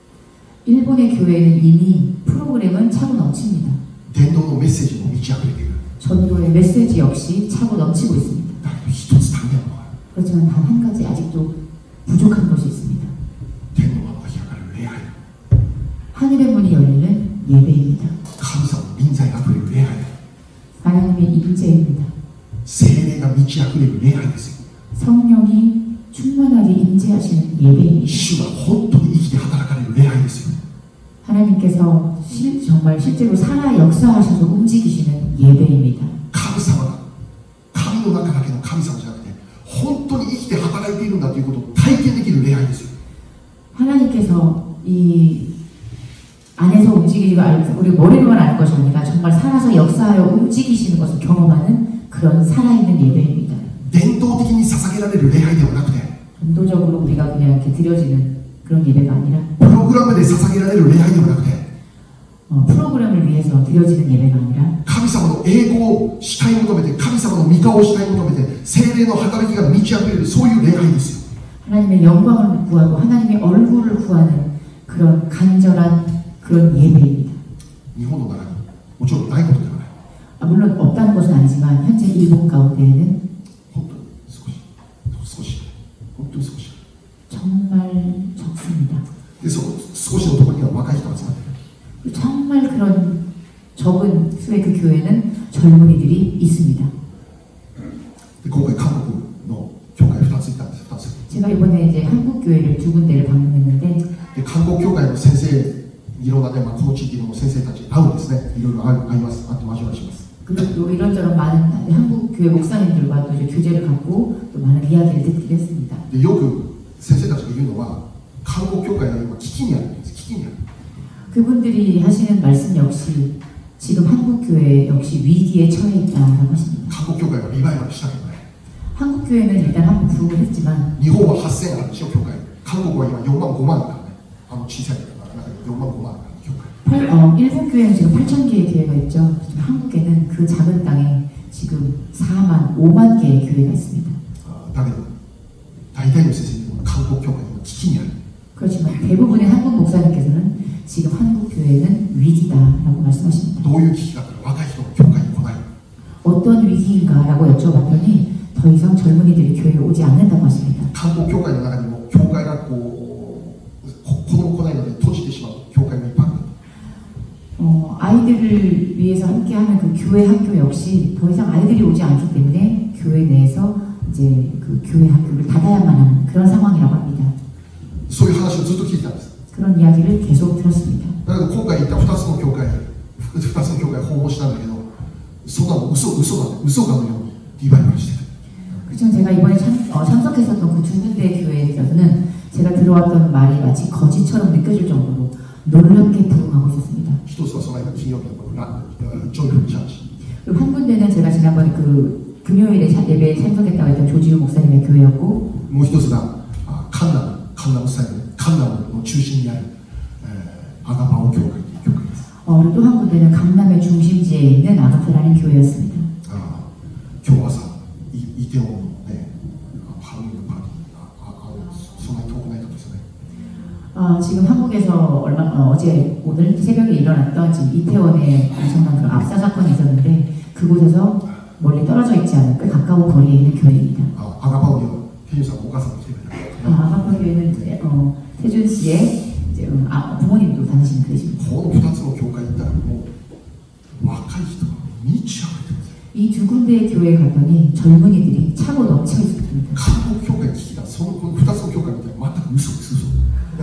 일본의 교회는 이미 프로그램은 차고 넘칩니다.
伝道のメッセージも満ち溢れている
전도의 메시지 역시 차고 넘치고 있습니다.
だけど一つ足りないのは
그렇지만 단 한 가지 아직도 부족한 것이 있습니다.
天の窓が開かれる礼拝
하늘의 문이 열리는 예배입니다.
神様の臨在があふれる礼拝
하나님의 임재입니다.
聖霊が満ち溢れる礼拝ですよ
성령이 충만하게 임재하시는 예배입니다.
主が本当に生きて働かれる礼拝ですよ
하나님께서 정말 실제로 살아 역사하셔서 움직이시는 예배입니다.
神様が神の中だけの神様じゃなくて本当に生きて働いているんだということを体験できる礼拝ですよ
하나님께서 이 안에서 움직이고 우리 머리로만 아는 것이 아니라 정말 살아서 역사하여 움직이시는 것을 경험하는 그런 살아있는 예배입니다.
伝統的に捧げられる礼拝ではなくて
전도적으로 우리가 그냥 이렇게 드려지는 그런 예배가 아니라
プログラムで捧げられる礼拝ではなくて
프로그램을 위해서 드려지는 예배가 아니라
神様の栄光を主体求めて神様の御顔を主体求めて聖霊の働きが満ち溢れるそういう礼拝ですよ
하나님의 영광을 구하고 하나님의 얼굴을 구하는 그런 간절한 그런 예배입니다.
日本の中にもちろんないことではない
물론 없다는 것은 아니지만 현재 일본 가운데에는
本当に少し本当に少し
정말 적습니다.
でその少しのところには若い人が集まってる
정말 그런 적은 수의 그 교회는 젊은이들이 있습니다.
で今回韓国の教会2つ行ったんです2つ
제가 이번에 이제 한국 교회를 두 군데를 방문했는데
で韓国教会の先生いろんなね、この地域の先生たち会うんですねいろいろ会います会って交わりします
그리고 또 이런저런 많은 한국 교회 목사님들과 또 이제 교제를 갖고 또 많은 이야기를 듣기도 했습니다.
でよく先生たちが言うのは韓国教会が今危機にあるんです危機にある
그분들이 하시는 말씀 역시 지금 한국 교회 역시 위기에 처해 있다라고 하십니다.
韓国教会がリバイバルしたけどね
한국 교회는 일단 한번 부흥을 했지만
日本は8000あるでしょ教会韓国は今4万5万だからね小さいから4万5万だから教会
일본 교회는 지금 8,000개의 교회가 있죠. 한국에는 그 작은 땅에 지금 5만 개의 교회가 있습니다.
だけど大体の先生にも韓国教会の危機にある
그렇지만 대부분의 한국 목사님께서는 지금 한국 교회는 위기다라고 말씀하십니다.
どういう危機かって若い人が教会に来ない
어떤 위기인가라고 여쭤봤더니 더 이상 젊은이들이 교회에 오지 않는다고 하십니다.
韓国教会の中にも教会が子供来ないので閉じてしまう教会もいっぱいある
아이들을 위해서 함께하는 그 교회 학교 역시 더 이상 아이들이 오지 않기 때문에 교회 내에서 이제 그 교회 학교를 닫아야만 하는 그런 상황이라고 합니다.
そういう話をずっと聞いてたんです
그런 이야기를 계속 들었습니다.
だけど今回行った2つの教会訪問したんだけどそんなの嘘かのようにリバイバルしてる
그렇죠. 제가 이번에 참석했었던 그 두 군데 교회에서는 제가 들어왔던 말이 마치 거짓처럼 느껴질 정도로 놀랍게 부흥하고 있었습니다.
一つはその間金曜日のジョイフルチャーチ
그리고 한 군데는 제가 지난번에 그 금요일에 예배에 참석했다고 했던 조지우 목사님의 교회였고
もう一つがカンナムスタイルカンナムの中心にあるアガパオ教会という教会です
그리고 또 한 군데는 강남의 중심지에 있는 아가페라는 교회였습니다.
今日朝イテウォンのねハロウィンのパーティーそんなに遠くないとこですよね
지금 한국에서 오늘 새벽에 일어났던 지금 이태원에 엄청난 그 압사 사건이 있었는데 그곳에서 멀리 떨어져 있지 않은 꽤 가까운 거리에 있는 교회입니다.
アガパオにはケニーさんのお母さんが来てくれた
아가파 교회는 태준 씨의 이제, 부모님도 다니시는 교회입니다.
この2つの教会に行ったらもう若い人が満ち溢れてます
이 두 군데의 교회에 갔더니 젊은이들이 차고 넘쳐 있었습니다.
韓国教会に聞いたこの2つの教会みたいな全く嘘です嘘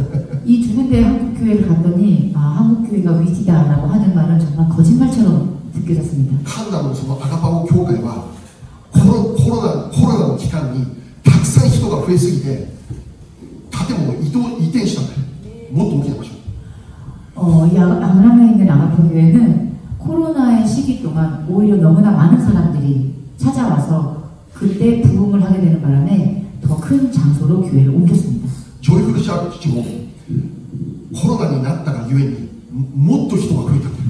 이 두 군데의 한국 교회를 갔더니 한국 교회가 위기다라고 하는 말은 정말 거짓말처럼 느껴졌습니다.
カンナムのそのアガパオ教会はコロナの期間にたくさん人が増えすぎて建物を移転したんだよもっと大きな場所
이 강남에 있는 아가파 교회는 코로나의 시기 동안 오히려 너무나 많은 사람들이 찾아와서 그때 부흥을 하게 되는 바람에 더 큰 장소로 교회를 옮겼습니다.
ジョイフルチャーチもコロナになったがゆえにもっと人が増えたんだよ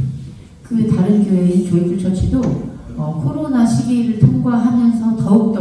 그 다른 교회인 조이풀 처치도 코로나 시기를 통과하면서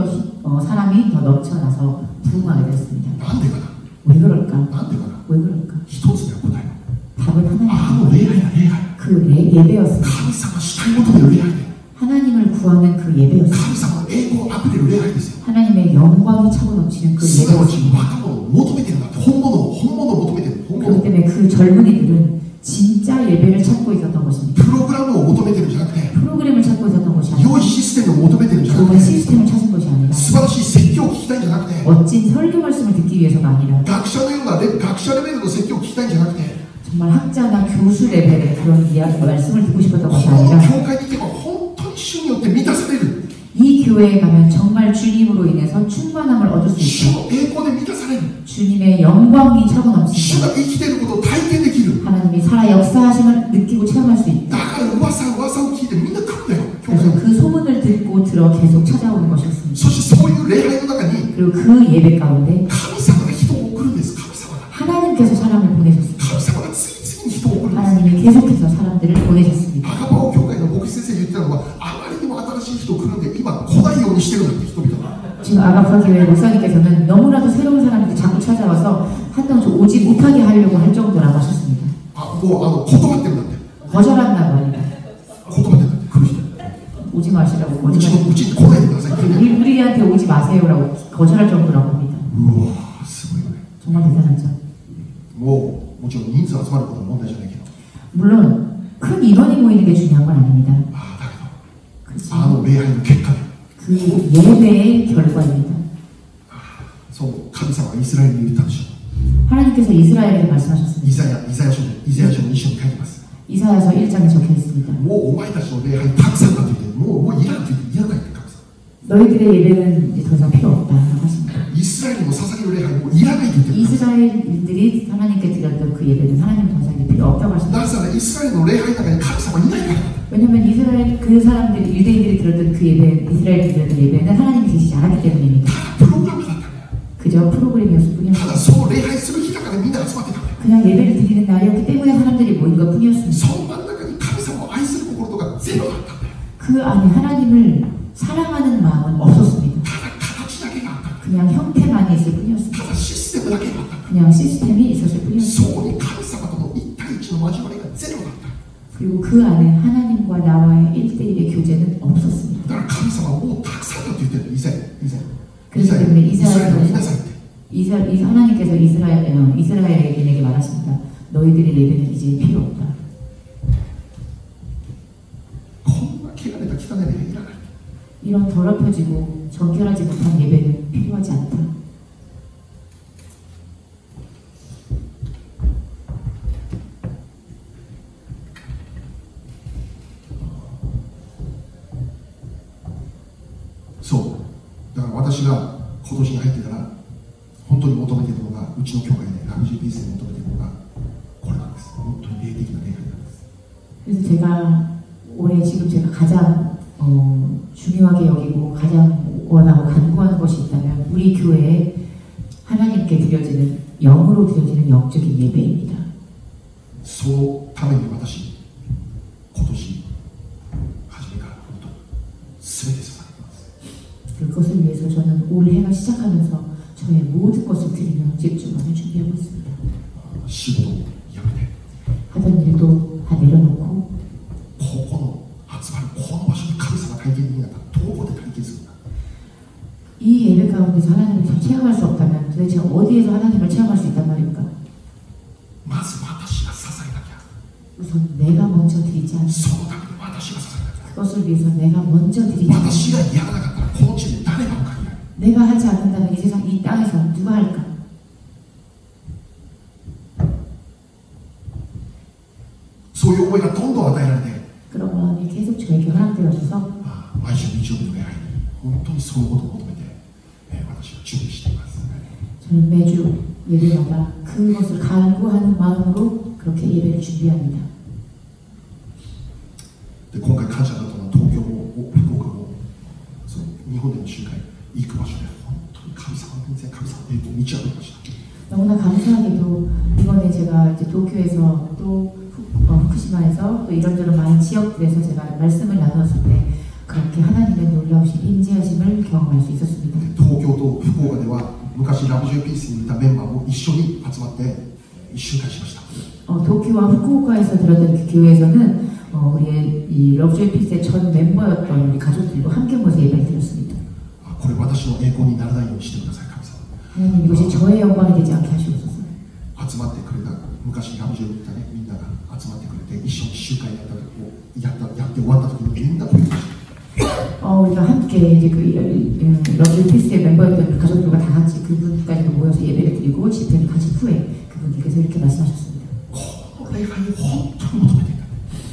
더욱더 사람이 더 넘쳐나서 부흥하게 됐습니다.
なんでかな
왜 그럴까?
なんでかな
왜 그럴까?
一つの答え
답은 하나님.
礼拝だ礼拝
그 예배였습니다.
神様主体求める礼拝で
하나님을 구하는 그 예배였습니다.
神様の栄光あふれる礼拝ですよ
하나님의 영광이 차고 넘치는 그
すなわち
예배였습니다.
若者を求めてるんだって本物を求めてる本
그렇기
物
때문에 그 젊은이들은 진짜 예배를 찾고 있었던 것입니다.
プログラムを求めてるんじゃなくて
프로그램을 찾고 있었던 것이 아니라
良いシステムを求めてるんじゃなく
좋은
て
시스템을 찾은 것이 아니라
素晴らしい説教を聞きたいんじゃなくて
멋진 설교 말씀을 듣기 위해서가 아니라
学者のような学者レベルの説教を聞きたいんじゃなくて
정말 학자나 교수 레벨의 그런 말씀을 듣고 싶었던
こ
것이
の
아니라
教会に行けば本当に主によって満たされる
이 교회에 가면 정말 주님으로 인해서 충만함을 얻을 수
主
있고
の栄光で満たされる
주님의 영광이 차고
主
넘친다.
が生きていることを体験できる
하나님이 살아 역사하심을 느끼고 체험할 수 있다.
だから噂を聞いてみんな来るんだよ教
그래서
会
그 소문을 듣고 들어 계속 찾아오는 것이었습니다.
そしてそういう礼拝の中に
그리고 그 예배 가운데
神様が人を送るんです神様が
하나님께서 사람을 보내셨습니다.
神様が次々に人を送るんです
하나님이 계속해서 사람들을 보내셨습니다.
アガパオ教会の牧師先生が言ってたのはあまりにも新しい人来るんで今来ないようにしてるんだって人々が
지금 아가파 교회 목사님께서는 너무나도 새로운 사람들이 자꾸 찾아와서 한동 오지 못하게 하려고 할 정도라고 하셨습니다.
もう断ってるんだって
거절한다고 합니다.
断ってるんだって来る人
오지 마시라고
うち
거절하고
に来ないでくださいって言って
우리한테 오지 마세요라고 거절할 정도라고 합니다.
うわーすごいよね
정말 대단하죠.
もちろん人数集まることは問題じゃないけど
물론 큰 인원이 모이는 게 중요한 건 아닙니다.
だけ
그치?
ど礼拝の結果で
그 예배의 결과입니다.
そう神様がイスラエルに言ったんでしょ
하나님께서 이스라엘에게
う
말씀하셨습니다.
イザヤ書の一緒に書いてます
이사야서 1장에 적혀 있습니다.
もうお前たちの礼拝たくさんだと言ってもういらんと言っていらないって神様
너희들의 예배는 이제 더 이상 필요 없다라고 하십니다.
イスラエルの捧げる礼拝もういらないと言ってる
이스라엘인들이 하나님께 드렸던 그 예배는 하나님 더 이상 이제 필요 없다고 하십니다.
なぜならイスラエルの礼拝の中に神様いないから
왜냐하면 이스라엘 그 사람들이 유대인들이 들었던 그 예배, 이스라엘이 들었던 예배는 하나님이 계시지 않았기 때문입니다.
プログラムだったんだよ
그저 프로그램이었을
た
뿐이었어요.
だその礼拝する日だからみんな集まってたんだよ
그냥 예배를 드리는 날이었기 때문에 사람들이 모인 것 뿐이었습니다.
その真ん中に神様を愛する心とかゼロだったんだよ。
그 안에 하나님을 사랑하는 마음은 없었습니다.
ただ形だけがあったんだ。
그냥 형태만 있을 뿐이었습니다.
ただシステムだけがあったんだ。
그냥 시스템이 있었을 뿐이었습니다.
そこに神様との一対一の交わりがゼロだった。
그리고 그 안에 하나님과 나와의 1대1의 교제는 없었습니다.
だから神様はもうたくさんだって言ってる。以前
그렇기 때문에
イスラエルを見なさいって。
하나님께서 이스라엘에게 말하십니다. 너희들의 예배는 이제 필요 없다.
こんな汚れた汚い礼拝いらない。
이런 더럽혀지고 정결하지 못한 예배는 필요하지 않다.
そうだから私が今年に入ってから本当に求めているのがうちの教会でラブジーピースで求めているのがこれなんです。本当に霊的な礼拝なんです。
그래서 제가 올해 지금 제가 가장 중요하게 여기고 가장 원하고 간구하는 것이 있다면 우리 교회에 하나님께 드려지는 영으로 드려지는 영적인 예배입니다.
そのために私今年初めから本当に全て捧げています。
그것을 위해서 저는 올해가 시작하면서 저의 모든 것을 드리며 집중하며 준비하고 있습니다.
仕事をやめて
하던 일도 다 내려놓고
ここの集まるこの場所に神様体験できなかったらどこで体験するんだ。
이 예배 가운데서 하나님을 체험할 수 없다면 도대체 어디에서 하나님을 체험할 수 있단 말입니까?
まず私が捧げなきゃ。
우선 내가 먼저 드리지 않으면
そのために私が捧げなきゃ。
그것을 위해서 내가 먼저 드리지
私が
않으면
やらなかったらこの地で誰が分かり合う。
내가 하지 않는다면 이 세상 이 땅에서 누가 할까?
そういう思いがどんどん与えられて
그런 마음이 계속 저에게 허락되어져서
毎週日曜日の礼拝に本当にそういうことを求めて、私は準備しています。
저는 매주 예배마다 그것을 간구하는 마음으로 그렇게 예배를 준비합니다.
で今回感謝だったのは東京も福岡もその日本での集会行く場所で本当に神様の御前神様の栄光を満ち溢れました。
너무나 감사하게도 이번에 제가 이제 도쿄에서 또 후쿠시마에서 또 이런저런 많은 지역들에서 제가 말씀을 나눴을 때 그렇게 하나님의 놀라우신 인지하심을 경험할 수 있었습니다.
東京と福岡では昔ラブジューピースにいたメンバーも一緒に集まって一集会しました。
도쿄와 후쿠오카에서 들었던 그 교회에서는 우리의 이 러브조이 피스의 전 멤버였던 우리 가족들과 함께 모여서 예배를 드렸습니다.
これ私の栄光にならないようにしてください神様。
하나님 이것이 저의 영광이 되지 않게 하시옵소서.
集まってくれた昔ラブジューにいたねみんなが集まってくれて一緒に集会やって終わった時にみんな声を出して
우리가 함께 이제 그 러브조이 피스의 멤버였던 그 가족들과 다 같이 그분까지도 모여서 예배를 드리고 집회를 가진 후에 그분께서 이렇게 말씀하셨습니다.
この礼拝を本当に求めていた。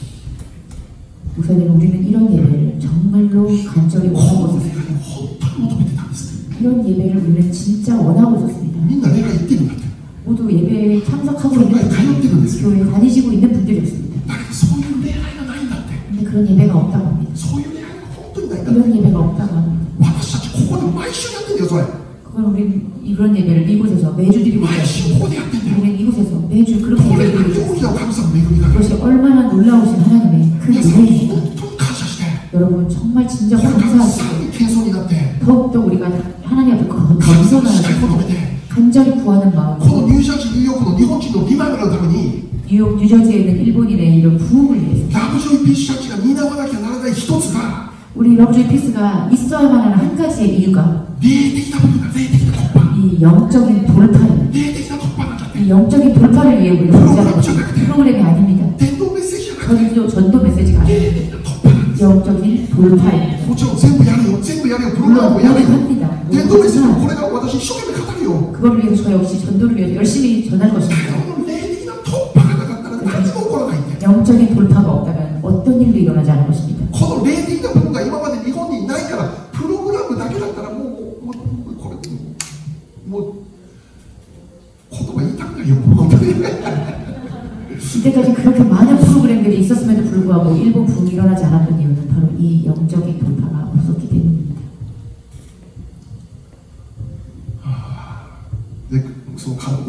목사님 우리는 이런 예배를 정말로 간절히
こ
원하고
の礼拝
있었습니다.
を本当に求めてたんです。
이런 예배를 우리는 진짜 원하고 있었습니다.
みんな礼拝行ってるんだって。
모두 예배에 참석하고 있는
교회에 다녔다는
분들, 교회에 다니시고 있는 분들이었습니다.
だけどそういう礼拝がないんだって。
근데 그런 예배가 없다고 합니다.
そういう礼拝が本当にないんだって。
이런 예배가 없다고 합니다.
私たちここで毎週やってんだよそれ。
그건 우리는 이런 예배를 이곳에서 매주 드리고
毎週
있어요.
ここでやってんだよ。
우리는 이곳에서 매주 그렇게
これ
예배를
が
드리고
大き
있어요.
な神様の恵みだから。
그것이 얼마나 놀라우신 하나님의 큰
皆さん
은혜입니까?
本当に感謝して。
여러분 정말 진짜
これからさ
감사하시고
らに謙遜になって
더욱더 우리가 하나님 앞에
神様のしたい求め
겸손하게
て。
간절히 구하는
この
마음으로
ニュージャージー、ニューヨークの日本人のリバイバルのために
뉴욕, 뉴저지에 있는 일본인의 이런 부흥을 위해서
ラブジョイピースチャーチが担わなきゃならない一つが
우리 러브조이 피스가 있어야만 하는 한 가지의 이유가
霊的な部分だ。霊的な突破。
이 영적인 돌파입니다.
霊的な突破なんだって。
이 영적인 돌파를 위해 우리가 존재하는 것입니다. 프로그램이 아닙니다.
伝道メッセージじゃなくて
전도 메시지가
霊
아닙니다.
的な突破なんです。
영적인 돌파입니다.
もちろん全部やるよ、全部やるよ、プログラムもやるよ。
합니다.
伝道メッセージもこれから私一生懸命語るよ。
그걸 위해서 저 역시 전도를 위해서 열심히 전할
だけ
것입니다.
どこの霊的な突破がなかったら何も起こらないんだよ。
영적인 돌파가 없다면 어떤 일도 일어나지 않을 것입니다.
この霊的な部分が今まで日本にないから、プログラムだけだったらもうこれもう言葉言いたくないよ、本当に。
이때까지 그렇게 많은 프로그램들이 있었음에도 불구하고 일본 부흥이 일어나지 않았던 이유는 바로 이 영적인 돌파가 없었기 때문입니다.
で、その韓国行ってたから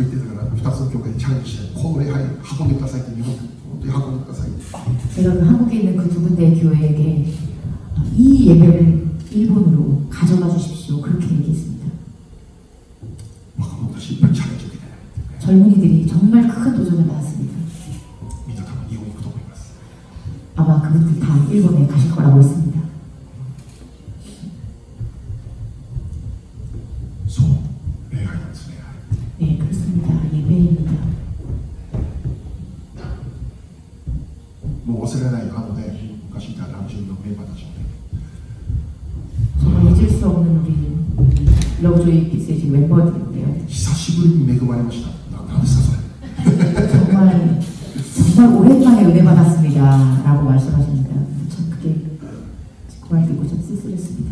2つの教会にチャレンジしてこの礼拝運んでくださいって日本に本当に運んでください。
제가 그 한국에 있는 그 두 군데의 교회에게 이 예배를 일본으로 가져가 주십시오. 그렇게 얘기했습니다.
若者たちいっぱいチャレンジを受けて
젊은이들이 정말 큰 도전을 받았습니다.
みんな多分日本に行くと思います。
아마 그분들 다 일본에 가실 거라고 했습니다.
そう礼拝なんですね。
네, 그렇습니다. 예배입니다.
もう忘れない昔いたラブジュンのメンバーたちもね
정말 잊을 수 없는 우리 러브조이 피스의 지금 멤버들인데요.
久しぶりに恵まれました。なんですかそれ。
정말 오랜만에 은혜 받았습니다. 라고 말씀하십니다. 참 그게 그 말 듣고 좀 쓸쓸했습니다.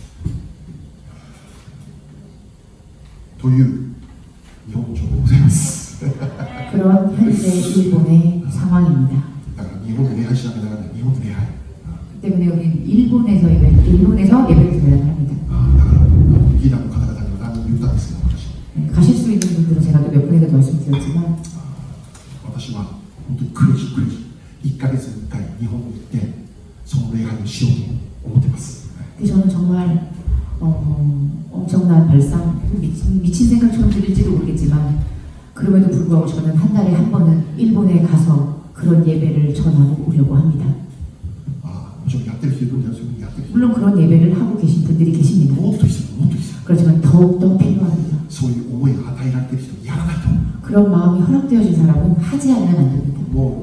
という日本情報でございます。
그런 현재 일본의 상황입니다.
だから日本で礼拝しなきゃならない。日本で礼拝。
때문에 우리는 일본에서 예배를 드려야 합니다.
だからリーダーの方々には何人言ったんですけど私。
가실 수 있는 분들은 제가 또 몇 분에도 말씀드렸지만
私は本当にクレイジー1ヶ月に1回日本に行ってその礼拝をしようと思っています。
저는 정말 엄청난 발상, 미친 생각처럼 들릴지도 모르겠지만 그럼에도 불구하고 저는 한 달에 한 번은 일본에 가서 그런 예배를 전하고 오려고 합니다. 물론 그런 예배를 하고 계신 분들이 계십니다. 그렇지만 더욱더 필요합니다. 그런 마음이 허락되어진 사람은 하지 않으면 안 됩니다.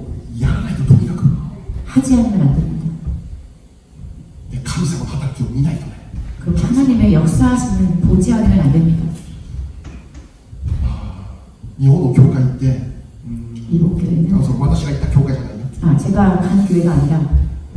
하지 않으면 안 됩니다. 그렇게 하나님의 역사하시는 보지 않으면 안 됩니다.
일본 교회는
일본 교회는 제가 간 교회가 아니라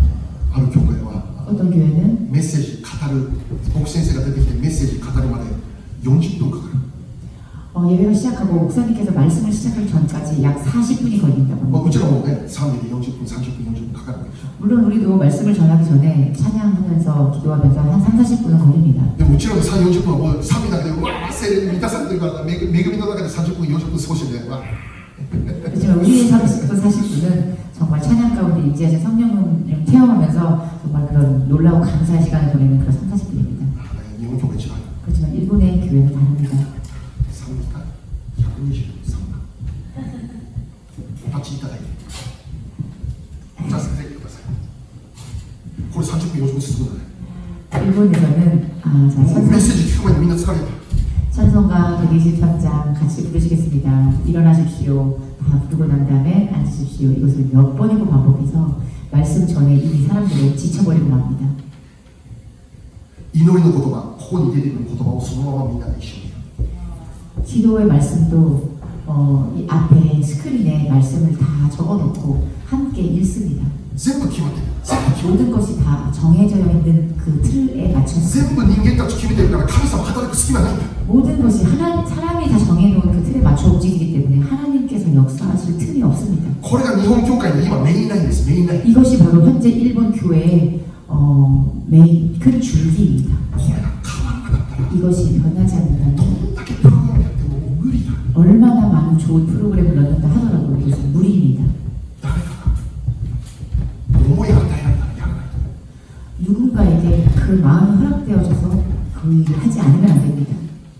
어떤 교회는
メッセージ語る牧師先生が出てきてメッセージ語るまで40分かかる。
예배가 시작하고 목사님께서 말씀을 시작하기 전까지 약 40분이 걸린다고 합니다.
もちろんね、賛美で40分、30分、40分かかるわけでしょ。
물론 우리도 말씀을 전하기 전에 찬양하면서 기도하면서 한 3, 40분은 걸립니다.
でもちろん3、40分はもう賛美だけでうわー聖霊に満たされてるから恵みの中で30分、40分過ごしてるんだよ。
그렇지만 우리의 30분, 40분은 정말 찬양 가운데 임재하신 성령을 체험하면서 정말 그런 놀라운 감사의 시간을 보내는 그런 3, 40분입니다. 그렇지만 일본의 교회는 다릅니다.
お立ちいただいてじゃあ先生ください。これ30分40分進むんだね。
일본에서는 자,
メッセージ聞く前にみんな疲れた。
찬송가 123장 같이 부르시겠습니다. 일어나십시오. 다 부르고 난 다음에 앉으십시오. 이것을 몇 번이고 반복해서 말씀 전에 이미 사람들은 지쳐버리고 맙니다.
祈りの言葉、ここに出てくる言葉をそのままみんなで一緒に。
기도의 말씀도 이 앞에 스크린에 말씀을 다 적어놓고 함께 읽습니다.
全部決まってる。
모든 것이 다 정해져 있는 그 틀에 맞춰서
全部人間たち決めてるから神様働く隙間ないんだ。
모든 것이 사람이 다 정해놓은 그 틀에 맞춰 움직이기 때문에 하나님께서 역사하실 틈이 없습니다.
これが日本教会の今メインラインです。メインライン。
이것이 바로 현재 일본 교회의 메인 큰 줄기입니다.
これが変わらなかったら
이것이 변하지 않는다면
どんだけプログラムやってももう無理だ。
얼마나 많은 좋은 프로그램을 넣는다 하더라도 이것은 무리입니다.
誰かが思いが与えられたらやらないと。
누군가에게 그 마음이 허락되어져서 그 일을 하지 않으면 안 됩니다.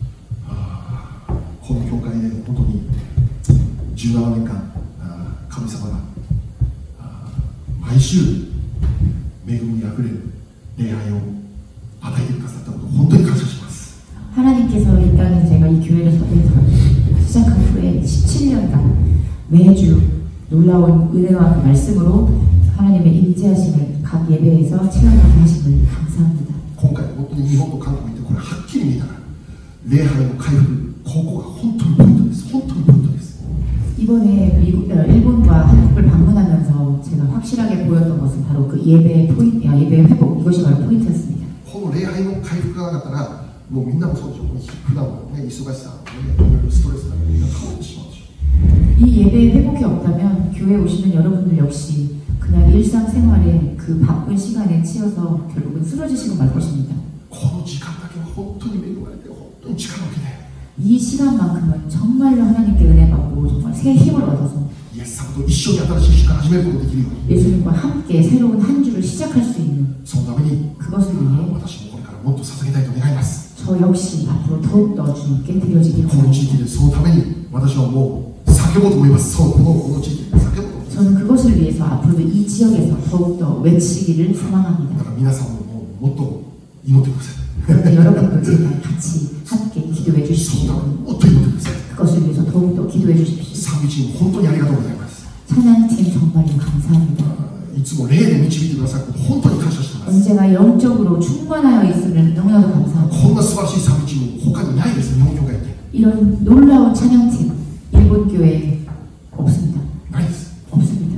この教会で本当に17年間神様が毎週恵みにあふれる礼拝を与えてくださったことを本当に感謝します。
하나님께서 일단은 제가 이 교회를 시작한 후에 17년간 매주 놀라운 은혜와 그 말씀으로 하나님의 임재하심을 각 예배에서 체험하게 하심을 감사합니다.
今回本当に日本と韓国に行ってこれはっきり見たら礼拝の回復、ここが本当にポイントです。本当にポイントです。
이번에 일본과 한국을 방문하면서 제가 확실하게 보였던 것은 바로 그 예배의 회복, 이것이 바로 포인트였습니다.
この礼拝の回復がなかったらもうみんなもそうでしょ。普段のね、忙しさ、ストレスがみんな変わってしまうでしょ。
이 예배의 회복이 없다면 교회에 오시는 여러분들 역시 그냥 일상생활의 그 바쁜 시간에 치여서 결국은 쓰러지시고 말 것입니다.
この時間だけは本当に恵まれて本当に力を受けて
이 시간만큼은 정말로 하나님께 은혜 받고 정말 새 힘을 얻어서
イエス様と一緒に新しい週間始めることができるように
예수님과 함께 새로운 한 주를 시작할 수 있는
そのために
그것을 위해
私もこれからもっと捧げたいと願います
저 역시 앞으로 더욱더 주님께 드려지길
この地域
원합니다.
でそのために私はもう叫ぼうと思いますそうこの地域で叫ぼうと思います
저는 그것을 위해서 앞으로도 이 지역에서 더욱더 외치기를
だ
소망합니다.
から皆さんももっと祈ってください
그런데 여러분도 제발 같이 함께 기도해
その
주십시오.
ためにもっと祈ってください
그것을 위해서 더욱더 기도해 주십시오.
賛美チーム本当にありがとうございます
찬양팀 정말로 감사합니다.
いつも霊で導いてくださって本当に感謝しています
언제나 영적으로 충만하여 있음을 너무나도 감사합니다.
こんな素晴らしい賛美チーム他にないです日本教会って
이런 놀라운 찬양팀 일본 교회에 없습니다.
ないです
없습니다.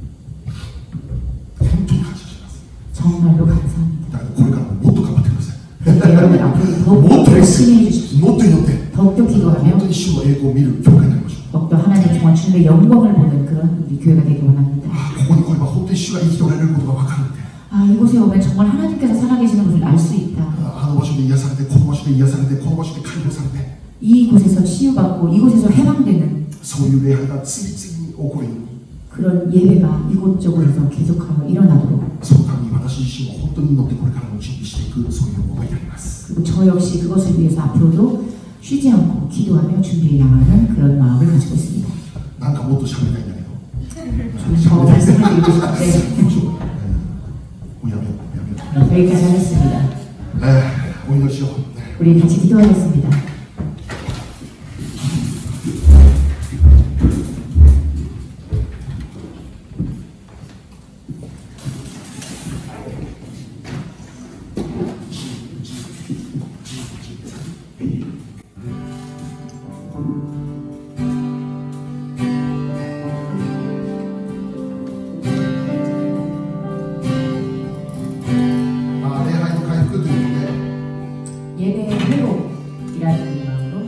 本当に感謝しています
정말로 감사합니다.
だからこれからももっと頑張ってください
그러니까 여러분 앞으로 더욱더 열심히 해주십시오.
もっと祈って
더욱더
本
기도하며
当に主の栄光を見る教会になりましょう
더욱더 하나님 정말 주님의 영광을 보는 그런 우리 교회가 되기 원합니다.
ここに来れば本当に主が生きておられることが分かるんで
아 이곳에 오면 정말 하나님께서 살아계시는 것을 알 수 있다.
あの場所で癒されてこの場所で癒されてこの場所で解放されて
이곳에서 치유받고 이곳에서 해방되는
そういう礼拝が次々に起こるように
그런 예배가 이곳저곳에서 계속하여 일어나도록
そのために私自身も本当に祈ってこれからも準備していくそういう思いであります
그리고 저 역시 그것을 위해서 앞으로도 쉬지 않고 기도하며 준비해 나가는 그런 마음을 가지고 있습니다.
なんかもっと喋りたいんだけど
더 말씀을 드리고 싶은데
もうやめようやめよ
여기까지 하겠습니다.
うお祈りしよう
우리 같이 기도하겠습니다. 예배의 회복이라는 마음으로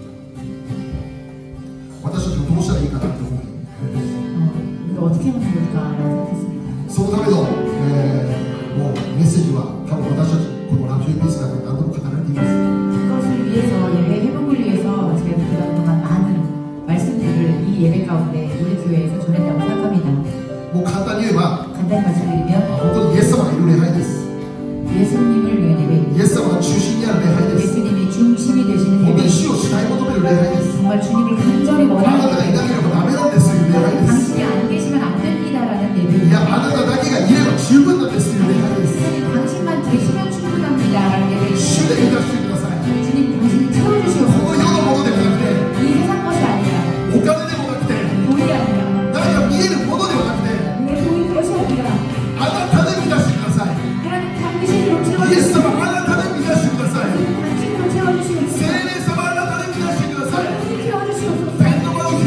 私たちがどうしたらいいかなって思う
우리가 어떻게 하면 좋을까라고 생각했습니다.
そのための、もうメッセージは多分私たちこのラジオベースだから何度も語られています
그것을 위해서 예배 회복을 위해서 제가 그동안 많은 말씀들을 이 예배 가운데 우리 교회에서 전했다고 생각합니다.
もう簡単に言えば
간단히 말씀드리면
本当にイエス様がいる礼拝です
예수님을 위한 예배입니다.
イエス様が中心にある礼拝です
예수님이 중심이 되시는
本当に
예배.
主を主体求める礼拝です
정말 주님을 간절히
あなた
원하는
がいなければダメなんですという礼拝です
당신이 안 계시면 안 됩니다라는
い
예배입니다.
やあなただけがいれば十分なんですという礼拝です
주님 당신만 계시면 충분합니다라는 예배입니다.
主で満たしてください
주님 당신이
こ
채워주시옵소서.
の世のものではなくて
이 세상 것이 아니라
お金でもなくて
돈이 아니라
何か見えるものではなくて
눈에 보이는 것이 아니라
あなたで満たしてください
하나님 당신으로
イエス
채워주시옵소서.
様あなたで満たしてください
당신으로 채워주시옵소서.
聖霊様あなたで満たしてください
당신 채워주시옵소서.
天の場を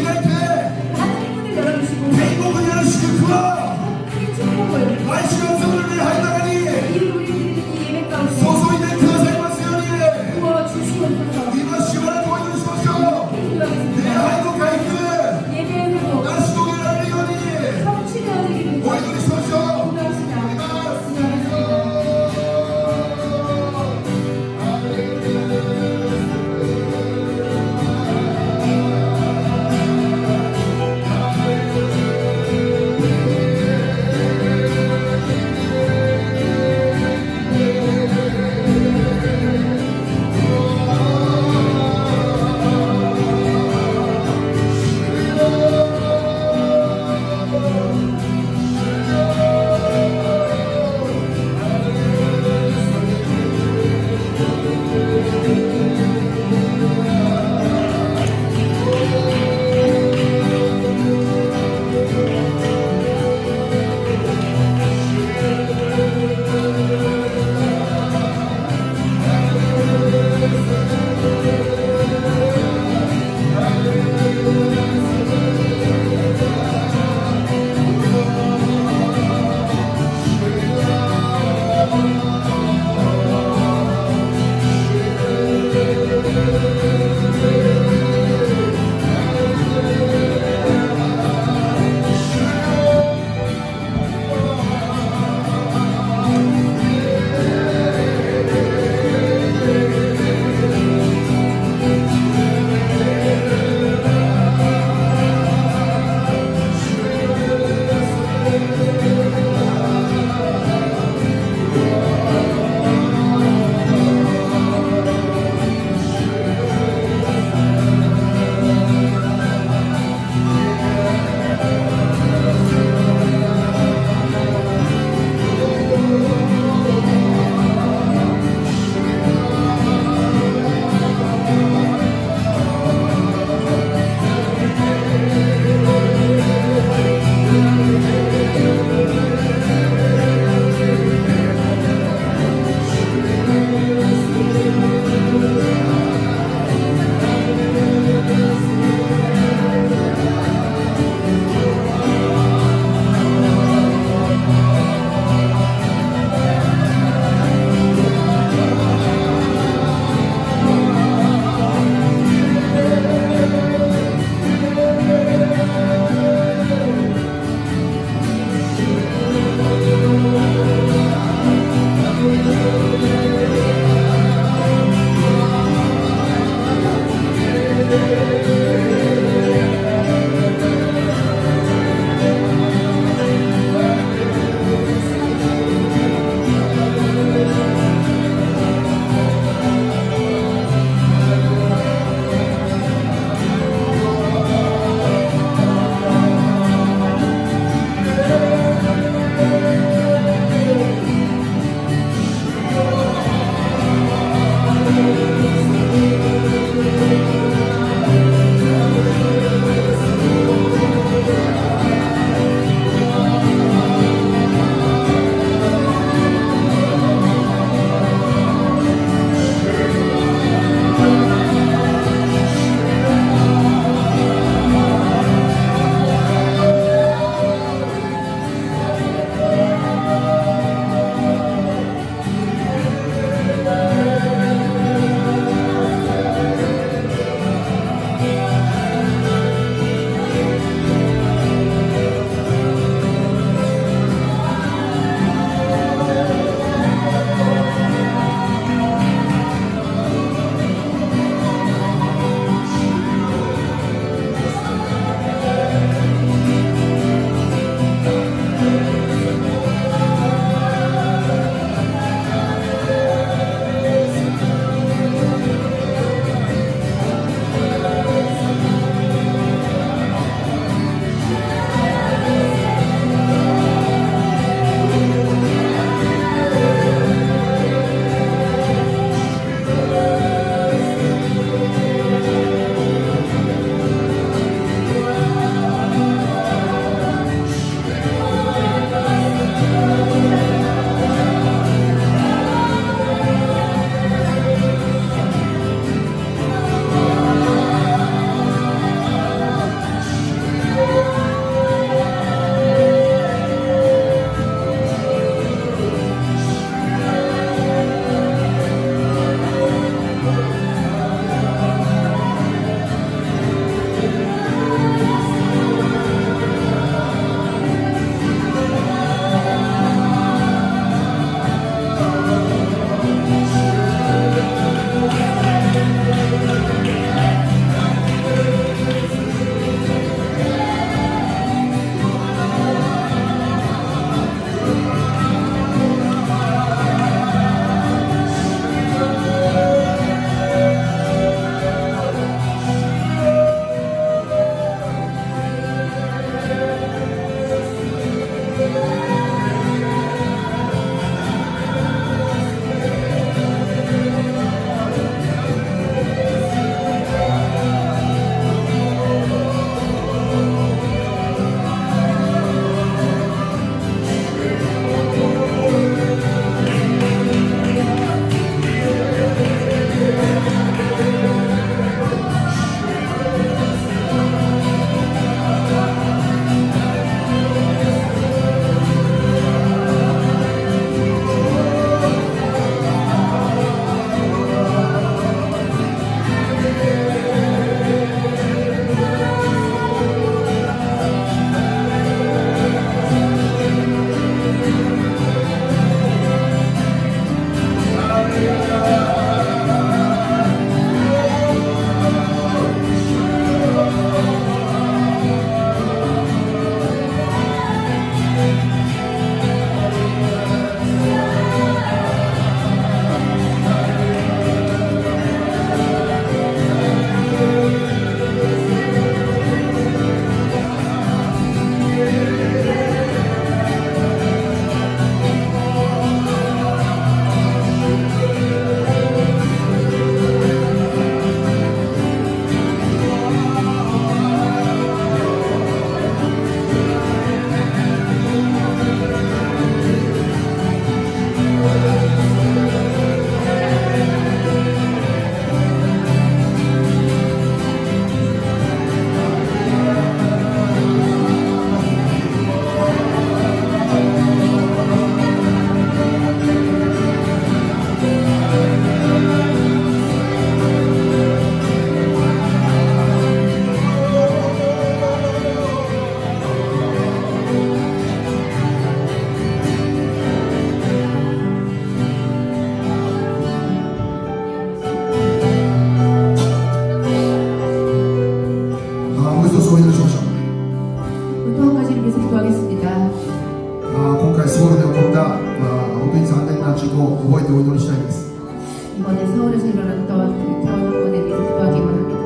一つお祈りしましょう。
또 한 가지를 위해서 기도하겠습니다.
今回ソウルで起こった本当に残念な事故を覚えてお祈りしたいです。
이번에 서울에서 일어났던 그 태원 사건에 대해서 기도하기만 합니다.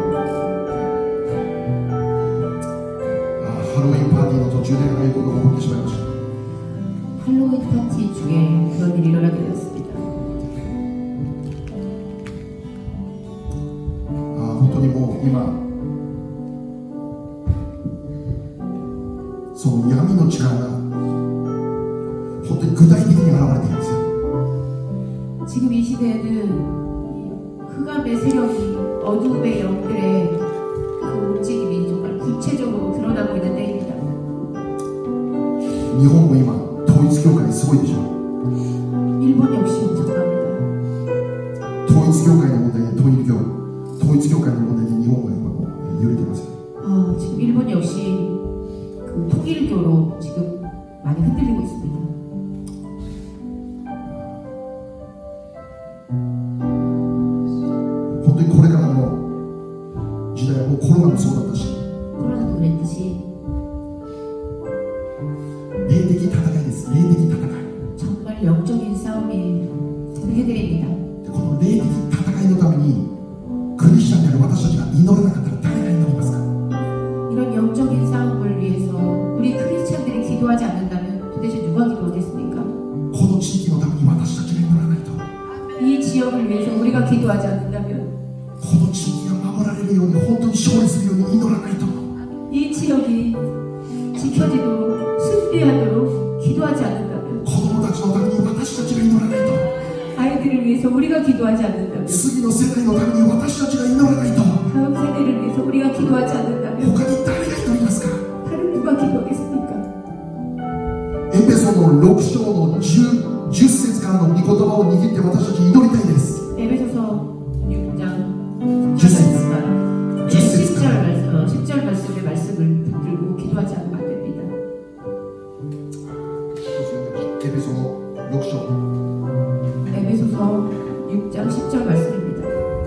ハロウィンパーティーの途中でああいうことが起こってしまいました。
할로윈 파티 중에 그런 일이 일어나게 되었습니다.
本当にもう今その闇の力が本当に具体的に現れているんですよ。
지금 이 시대에는 흑암의 세력이 어둠의 영들의 그 움직임이 정말 구체적으로 드러나고 있는 때입니다.
日本も今統一教会すごいでしょ。
일본 역시 엄청납니다.
統一教会の問題で統一教会の問題で日本は今もう揺れてますよ。
지금 일본 역시 그 통일교로 지금 많이 흔들리고 있습니다.
本当にこれからの時代はもうコロナもそうだったし、
코로나도 그랬듯이
霊的戦いです。霊的戦い。
정말 영적인 싸움이 세계대입니다.
でこの霊的戦いのためにクリスチャンである私たちが祈らなかったら誰が祈りますか？
이런 영적인 싸움을 위해서 우리 크리스찬들이 기도하지 않는다면 도대체 누가 기도하겠습니까?
この地域のために私たちが祈らないと、
이 지역을 위해서 우리가 기도하지 않는다면
この地域が守られるように本当に勝利するように祈らないと、
이 지역이 지켜지도록 승리하도록 기도하지 않는다면
子供たちのために私たちが祈らないと、
아이들을 위해서 우리가 기도하지 않는다면
次の世代のために私たちが祈らないと、
다음 세대를 위해서 우리가 기도하지 않는다면
他に誰が祈りますか？
다른 누가 기도하겠습니까?
エペソの6章の 10節からの御言葉を握って私たち祈りたいです。
에베소서 6장
10節
10절 말씀의 말씀을 붙들고 기도하지 않으면 안 됩니다.
エペソの6章
에베소서 6장 10절 말씀입니다.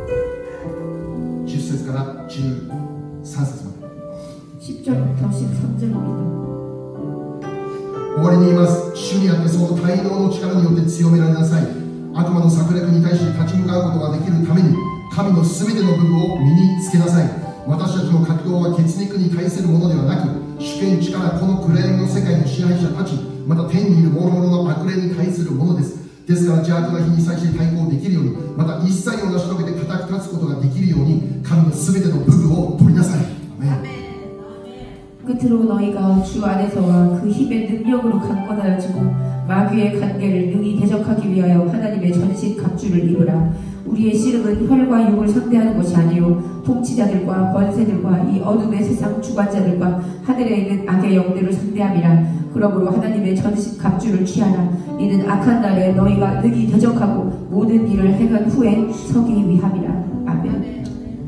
10節から13節まで
10절부터 13절입니다.
終わりに言います。主にあってその大能の力によって強められなさい。悪魔の策略に対して立ち向かうことができるために神のすべての武具を身につけなさい。私たちの格闘は血肉に対するものではなく、主権力この暗闇の世界の支配者たち、また天にいる諸々の悪霊に対するものです。ですから邪悪な日に際して対抗できるように、また一切を成し遂げて固く立つことができるように、神のすべての武具を取りなさい。アメン。
끝으로 너희가 주 안에서와 그 힘의 능력으로 강건하여지고 마귀의 관계를 능히 대적하기 위하여 하나님의 전신 갑주를 입으라. 우리의 씨름은 혈과 육을 상대하는 것이 아니요 통치자들과 권세들과 이 어둠의 세상 주관자들과 하늘에 있는 악의 영들을 상대함이라. 그러므로 하나님의 전신 갑주를 취하라. 이는 악한 날에 너희가 능히 대적하고 모든 일을 행한 후에 서기 위함이라. 아멘.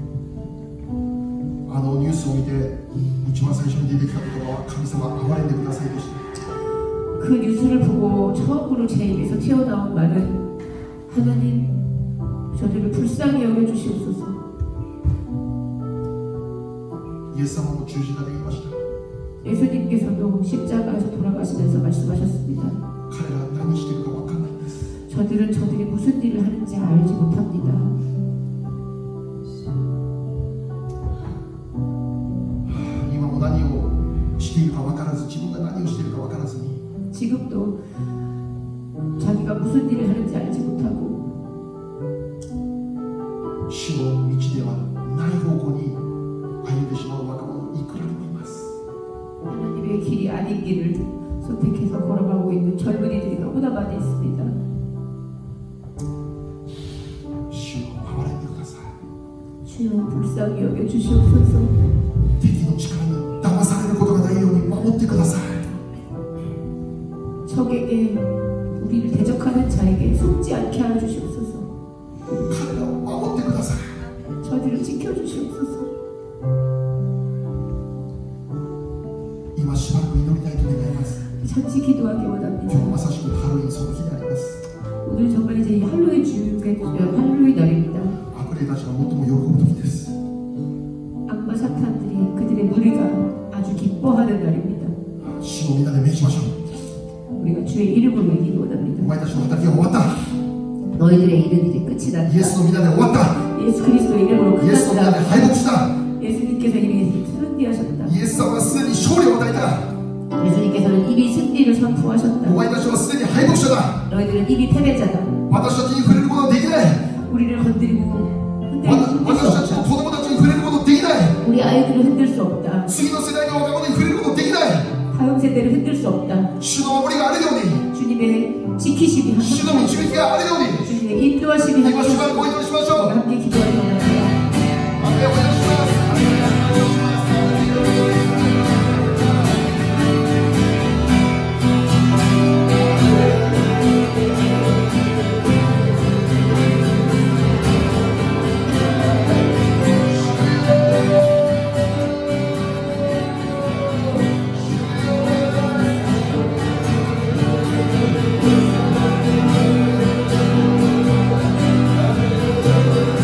ニュースを見て一番最初に出てきた言葉は神様憐れんでくださいでした。
그 뉴스를 보고 처음으로 제 입에서 튀어나온 말은 하나님 저들을 불쌍히 여겨주시옵소서.
イエス様も十字架で言いました。
예수님께서도 십자가에서 돌아가시면서 말씀하셨습니다.
彼らは何しているか分かんないんです。
저들은 저들이 무슨 일을 하는지 알지 못합니다.
今も何をしているか分からず、自分が何をしているか分からずに
지금도 자기가 무슨 일을 하는지 알지 못하고
主の道ではない方向に歩んでしまう若者いくらでもいます。
하나님의 길이 아닌 길을 선택해서 걸어가고 있는 젊은이들이 너무나 많이 있습니다.
主を憐れんでください。
주여 불쌍히 여겨주시옵소서.
敵の力に騙されることがないように守ってください。
적에게 우리를 대적하는 자에게 속지 않게 하여 주시옵소서.
彼らを守ってください。
저들을 지켜주시옵소서.
今しばらく祈りたいと願います。
잠시 기도하기
今日
원합니다.
まさしくハロウィンその日であります。
오늘 정말 이제 할로윈 할로윈 날입니다.
悪霊たちが最も喜ぶ時です。
악마 사탄들이 그들의 무리가 기뻐하는 날입니다.
主をみんなで命じましょう。
우리가 주의 이름으로 이기기
お
원합니다.
前たちの働きは終わった。
너희들의 일은 이제 끝이
イ
났다.
エスの皆で終わった。
예수 그리스도의 이름으로
イエスの皆で
끝났다.
敗北した。
예수님께서 이미 승리하셨다.
イエス様はすでに勝利を与えた。
예수님께서는 이미 승리를 선포하셨다.
お前たちはすでに敗北者だ。
너희들은 이미 패배자다.
私たちに触れることはできない。
우리를 건드리고 흔들 수
私たちの
없다.
子供たちに触れることはできない。
우리 아이들을 흔들 수 없다.
次の世代の若者に触れることはできない。
다음 세대를 흔들 수 없다.
主の守りがあるように、
주님의 지키심이
主の
하셨다.
導きがあるように、
주님의 인도하심이
今
하셨다.
しばらくお祈りしましょう。
함께 기도하기 원합니다.
お祈りします。
주님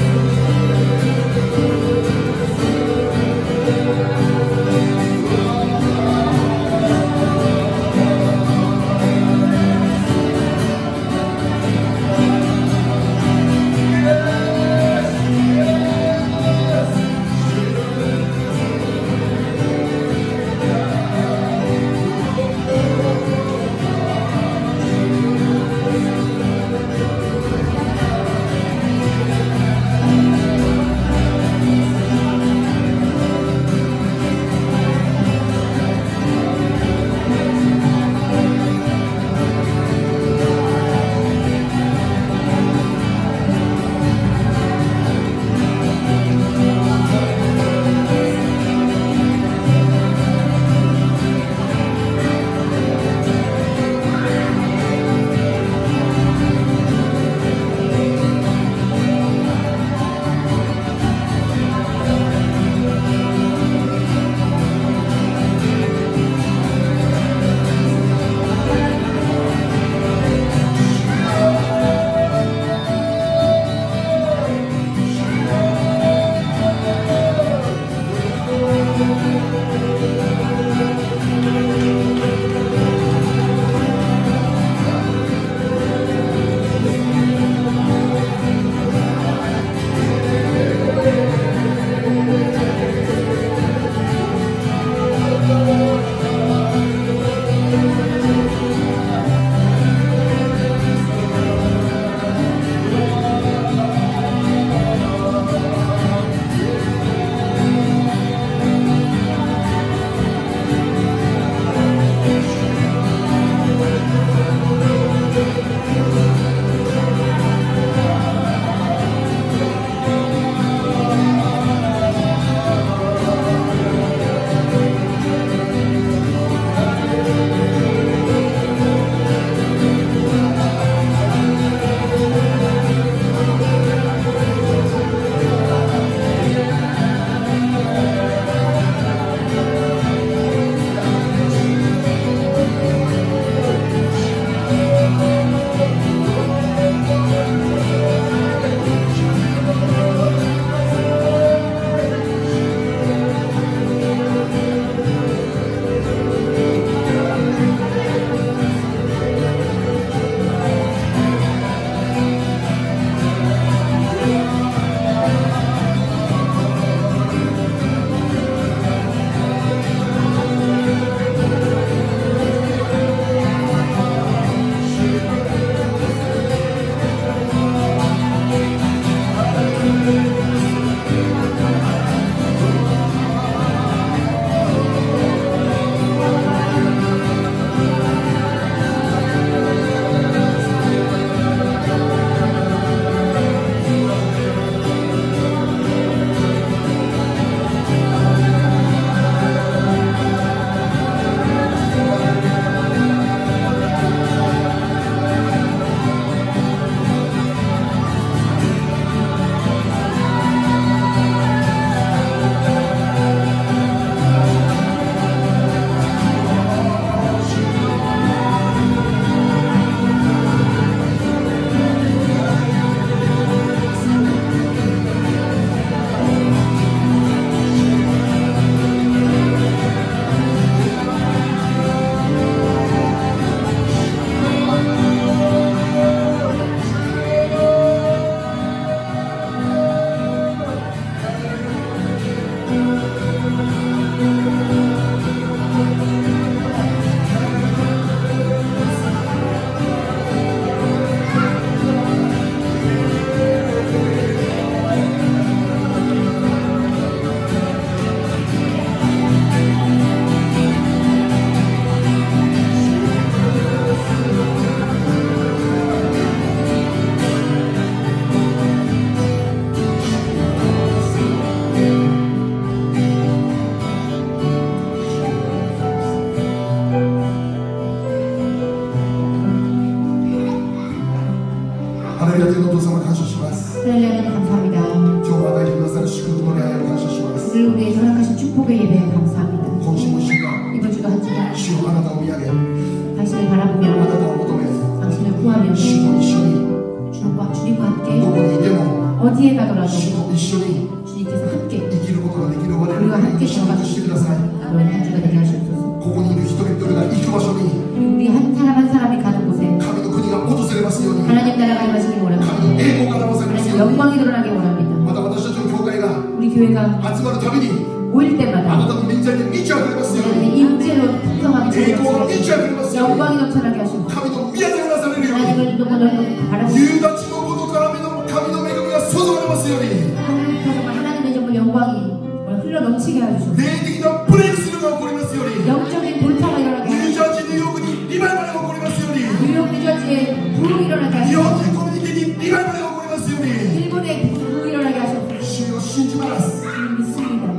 天のお父様感謝します。
하나님 감사합니다.
今日も与えてくださる祝福の礼拝を感謝します。
오늘 우리의 허락하신 축복의 예배에 감사합니다.
今週も一週間
이번 주도 한 주간
主よあなたを見上げ、あ
당신을
な
바라보며
たを求め、
당신을 구하며
主と一緒に
주님과 함께
どこにいても
어디에 가더라도
主と一緒に
주님께서 함께
生きることができる我々のために祝福してください。
그런 한 주가 되게 하시옵소서.
ここにいる一人一人が行く場所に
우리 한 사람 한 사람이 가는 곳에
神の国が訪れますように、
하나님 나라가 임하시길 원합니다.
神の栄光が表されます
하나님
ように、
영광이 드러나길 원합니다.
また私たちの教会が
우리 교회가
集まるたびに
모일
あな
때마다
たの臨在で満ち溢れますように、
하나님의 임재로 풍성하게
栄光が満ち
채워주시옵소서.
溢れますように、
영광이 넘쳐나게 하시옵소서.
神の宮でなされるように、
하나님을 너무 바라보고
夕立のことから神の恵みが注がれますように、
하나님의 정말 영광이 흘러 넘치게 해주시옵소서.
霊的なブレイクスルーが起こりますように、
영적인 돌파가 일어나게
ニュー
하시옵소서.
ジャージーニューヨークにリバイバルが起こりますように、
뉴욕 뉴저지에 부흥이 일어나게
日本
하시옵소서.
人コミュニティにリバイバルが起こりますように、
일본에 부흥이 일어나게 하시옵소서.
主を信じます。
주님 믿습니다.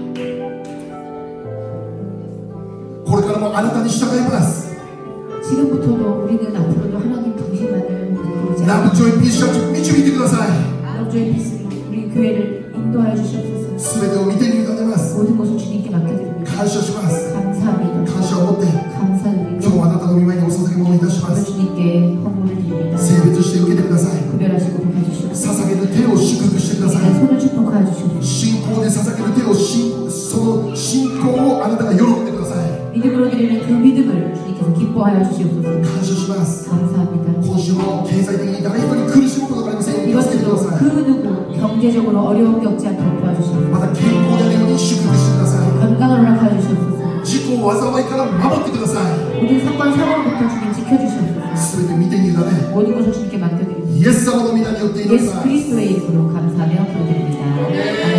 これからもあなたに従います。
지금부터도 우리는 앞으로도 하나님 당신만을 부르지
ラ
않고
ブジョイピースチャーチ導いてください。
럽조의 피스로 우리 교회를 인도하여 주시옵소서.
すべてを見て委ねます。
모든 것을 주님께 맡겨드립니다.
感謝します。
감사합니다.
感謝を持って
감사드리고
今日はあなたの御前にお捧げ物いたしま
오늘
す。
주님께 헌물을 드립니다.
性別して受けてください。
구별하시고 복해주시옵소서.
捧げる手を祝福してください。
손을 축복하여 주시옵소서.
信仰で捧げる手をその信仰をあなたが喜んでください。
믿음으로 드리는 그 믿음을 주님께서 기뻐하여 주시옵소서.
感謝します。
감사합니다.
今週も経済的に誰一人苦しむことがありませんように
이번
助けてくだ
주도
さい。
그 누구 경제적으로 어려움이 없지 않도록 도와주시옵소서.
また健康であるように祝福してください。
건강을 허락하여 주시옵소서.
事故災いから守ってください。
모든 사건 사고로부터 주님 지켜주시옵소서.
すべて見て委ね
모든 것을 주님께 맡겨드립니다.
イエス様の皆によって祈り
예수
ます。
그리스도의 이름으로 감사하며 기도드립니다. 아멘.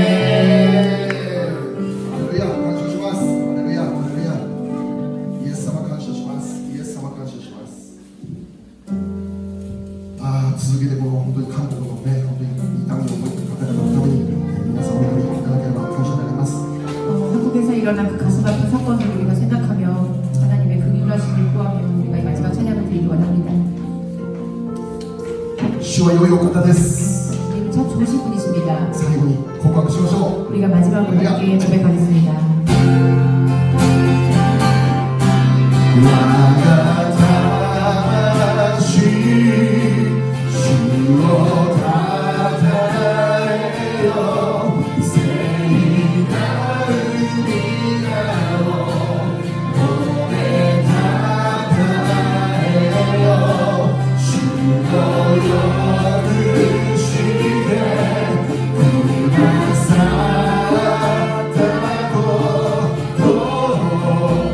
ハレルヤ感謝します。ハレルヤハレルヤ。イエス様感謝します。イエス様感謝します。続けてこの本当に韓国のね本当に痛みを覚えている方々のために皆さんお祈りいただければ感謝になります。
한국에서 일어난 그 가슴 아픈 사건을 우리가 생각하며 하나님의 긍휼하심을 구하며 우리가 이 마지막 찬양을 드리기 원합니다.
主は良いお方です。
주님 참 좋으신 분이십니다.
最後に告白しましょう。
우리가 마지막으로 함께 고백하겠습니다.
我が魂主をたたえよ聖なる皆を褒めたたえよ主を許してくださったことを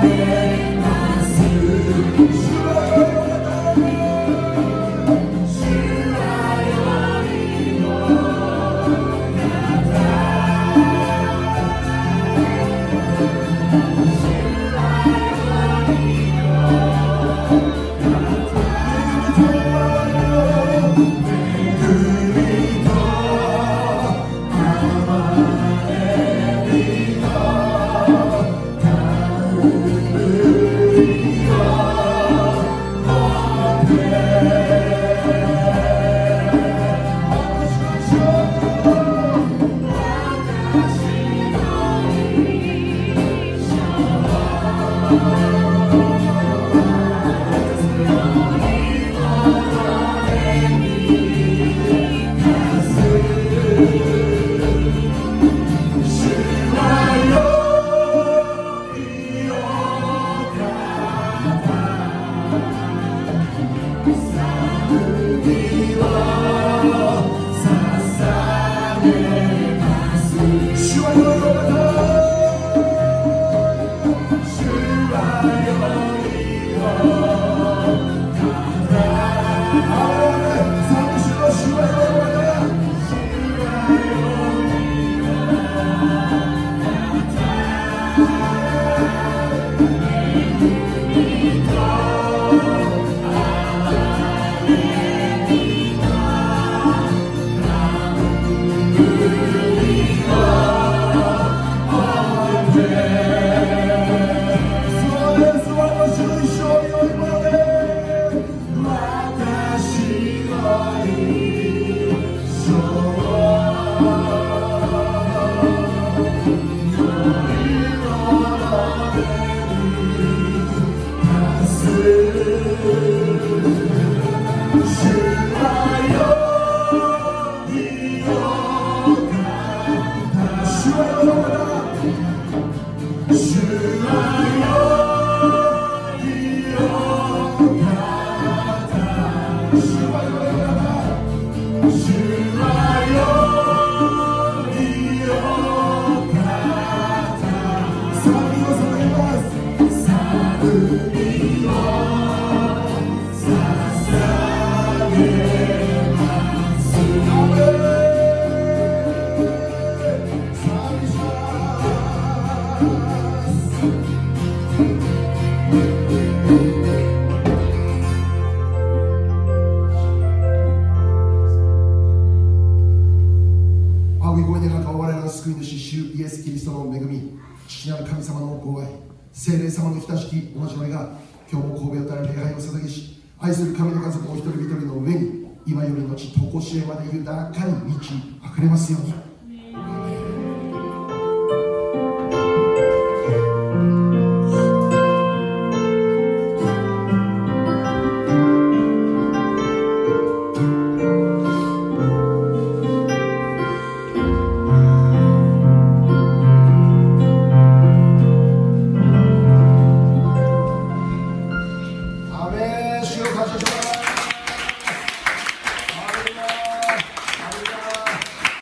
愛する神の家族お一人一人の上に今よりのち常しえまで豊かに満ち溢れますように。